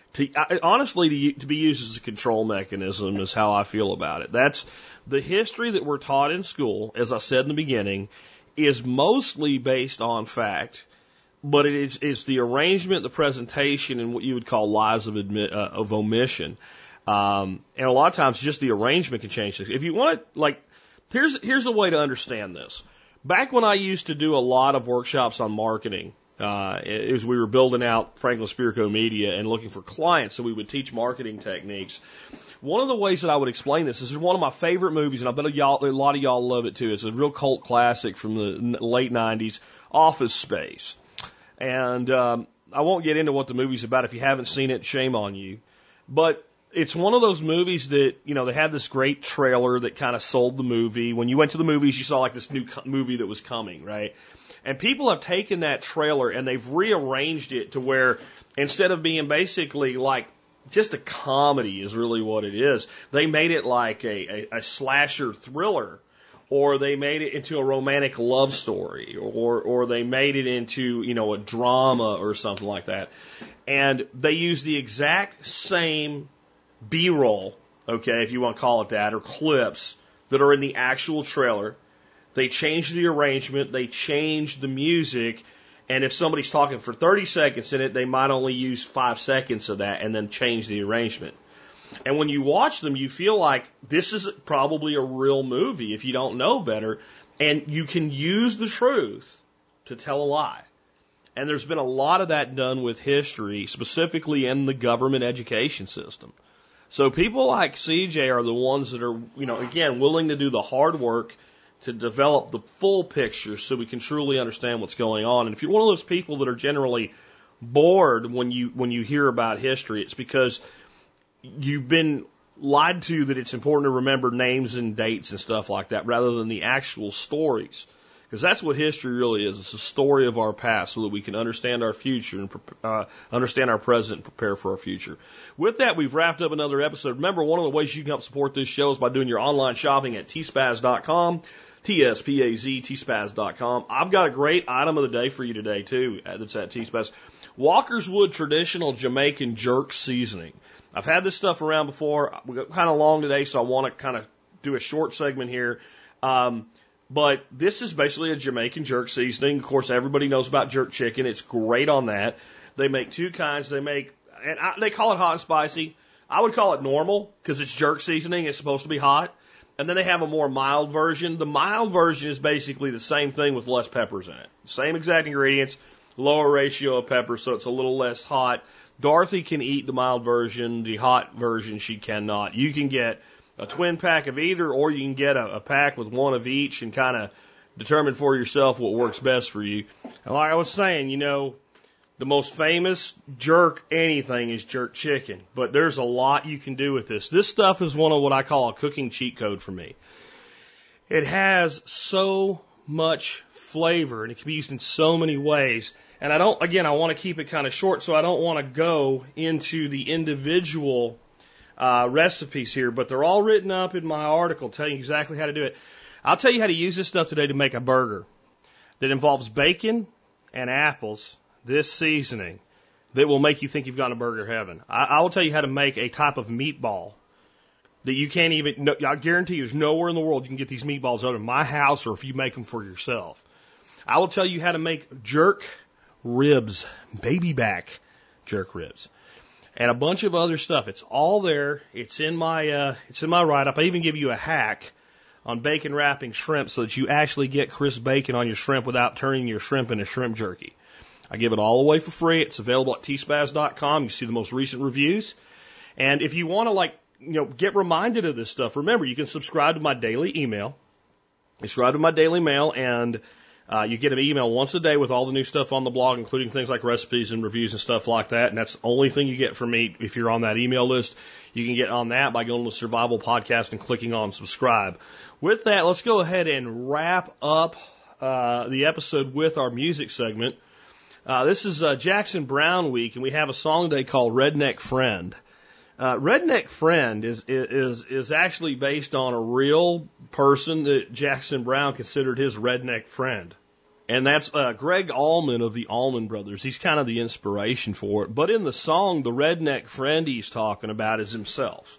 honestly to be used as a control mechanism, is how I feel about it. That's the history that we're taught in school, as I said in the beginning, is mostly based on fact, but it's the arrangement, the presentation, and what you would call lies of omission. And a lot of times just the arrangement can change things. If you want to, like, here's a way to understand this. Back when I used to do a lot of workshops on marketing, as we were building out Franklin Spirko Media and looking for clients, so we would teach marketing techniques. One of the ways that I would explain this is one of my favorite movies, and I bet a lot of y'all love it too. It's a real cult classic from the late 90s, Office Space. And I won't get into what the movie's about. If you haven't seen it, shame on you. But it's one of those movies that, you know, they had this great trailer that kind of sold the movie. When you went to the movies, you saw like this new movie that was coming, right? And people have taken that trailer and they've rearranged it to where instead of being basically like just a comedy is really what it is, they made it like a slasher thriller, or they made it into a romantic love story, or they made it into, you know, a drama or something like that. And they use the exact same B-roll, okay, if you want to call it that, or clips that are in the actual trailer. They change the arrangement, they change the music, And if somebody's talking for 30 seconds in it, they might only use 5 seconds of that and then change the arrangement. And when you watch them, you feel like this is probably a real movie if you don't know better. And you can use the truth to tell a lie. And there's been a lot of that done with history, specifically in the government education system. So people like CJ are the ones that are, again, willing to do the hard work to develop the full picture so we can truly understand what's going on. And if you're one of those people that are generally bored when you hear about history, it's because you've been lied to that it's important to remember names and dates and stuff like that rather than the actual stories. Because that's what history really is. It's a story of our past so that we can understand our future and understand our present and prepare for our future. With that, we've wrapped up another episode. Remember, one of the ways you can help support this show is by doing your online shopping at tspaz.com. TSPAZ, tspaz.com. I've got a great item of the day for you today, too, that's at Tspaz. Walkerswood Traditional Jamaican Jerk Seasoning. I've had this stuff around before. We got kind of long today, so I want to kind of do a short segment here. But this is basically a Jamaican jerk seasoning. Of course, everybody knows about jerk chicken. It's great on that. They make two kinds. They call it hot and spicy. I would call it normal because it's jerk seasoning. It's supposed to be hot. And then they have a more mild version. The mild version is basically the same thing with less peppers in it. Same exact ingredients, lower ratio of peppers, so it's a little less hot. Dorothy can eat the mild version. The hot version she cannot. You can get a twin pack of either, or you can get a pack with one of each and kind of determine for yourself what works best for you. And like I was saying, the most famous jerk anything is jerk chicken, but there's a lot you can do with this. This stuff is one of what I call a cooking cheat code for me. It has so much flavor and it can be used in so many ways. And I want to keep it kind of short, so I don't want to go into the individual recipes here, but they're all written up in my article telling you exactly how to do it. I'll tell you how to use this stuff today to make a burger that involves bacon and apples, this seasoning, that will make you think you've gone to burger heaven. I will tell you how to make a type of meatball that you can't even, I guarantee you there's nowhere in the world you can get these meatballs out of my house or if you make them for yourself. I will tell you how to make jerk ribs, baby back jerk ribs, and a bunch of other stuff. It's all there. It's in my write-up. I even give you a hack on bacon wrapping shrimp so that you actually get crisp bacon on your shrimp without turning your shrimp into shrimp jerky. I give it all away for free. It's available at tspaz.com. You see the most recent reviews. And if you want to get reminded of this stuff, remember you can subscribe to my daily email. Subscribe to my daily mail and you get an email once a day with all the new stuff on the blog, including things like recipes and reviews and stuff like that. And that's the only thing you get from me if you're on that email list. You can get on that by going to Survival Podcast and clicking on subscribe. With that, let's go ahead and wrap up the episode with our music segment. This is Jackson Browne week, and we have a song today called Redneck Friend. Redneck Friend is actually based on a real person that Jackson Browne considered his redneck friend. And that's Greg Allman of the Allman Brothers. He's kind of the inspiration for it. But in the song, the redneck friend he's talking about is himself.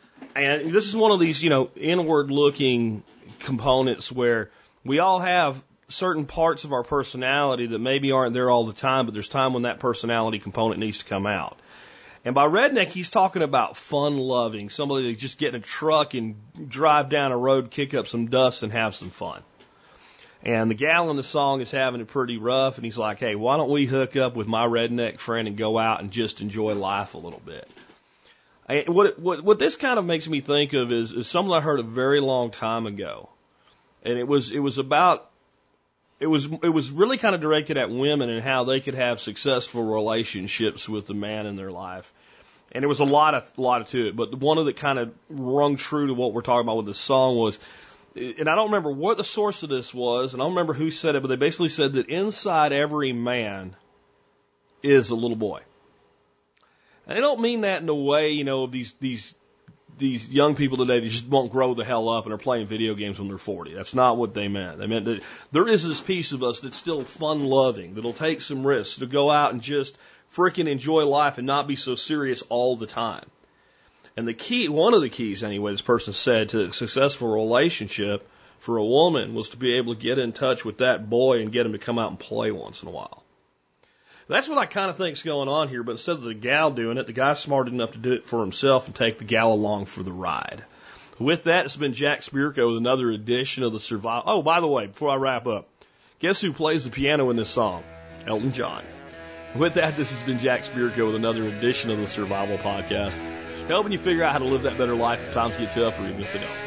And this is one of these, inward-looking components where we all have certain parts of our personality that maybe aren't there all the time, but there's time when that personality component needs to come out. And by redneck, he's talking about fun-loving, somebody that just get in a truck and drive down a road, kick up some dust, and have some fun. And the gal in the song is having it pretty rough, and he's like, hey, why don't we hook up with my redneck friend and go out and just enjoy life a little bit? And what this kind of makes me think of is something I heard a very long time ago. And it was really kind of directed at women and how they could have successful relationships with the man in their life. And there was a lot to it, but the one that kind of rung true to what we're talking about with this song was, and I don't remember what the source of this was, and I don't remember who said it, but they basically said that inside every man is a little boy. And I don't mean that in a way, of these young people today that just won't grow the hell up and are playing video games when they're 40. That's not what they meant. They meant that there is this piece of us that's still fun-loving, that'll take some risks, to go out and just frickin' enjoy life and not be so serious all the time. And one of the keys anyway, this person said, to a successful relationship for a woman was to be able to get in touch with that boy and get him to come out and play once in a while. That's what I kind of think's going on here, but instead of the gal doing it, the guy's smart enough to do it for himself and take the gal along for the ride. With that, it's been Jack Spirko with another edition of the Survival. Oh, by the way, before I wrap up, guess who plays the piano in this song? Elton John. With that, this has been Jack Spirko with another edition of the Survival Podcast, helping you figure out how to live that better life if times get tough or even if they don't.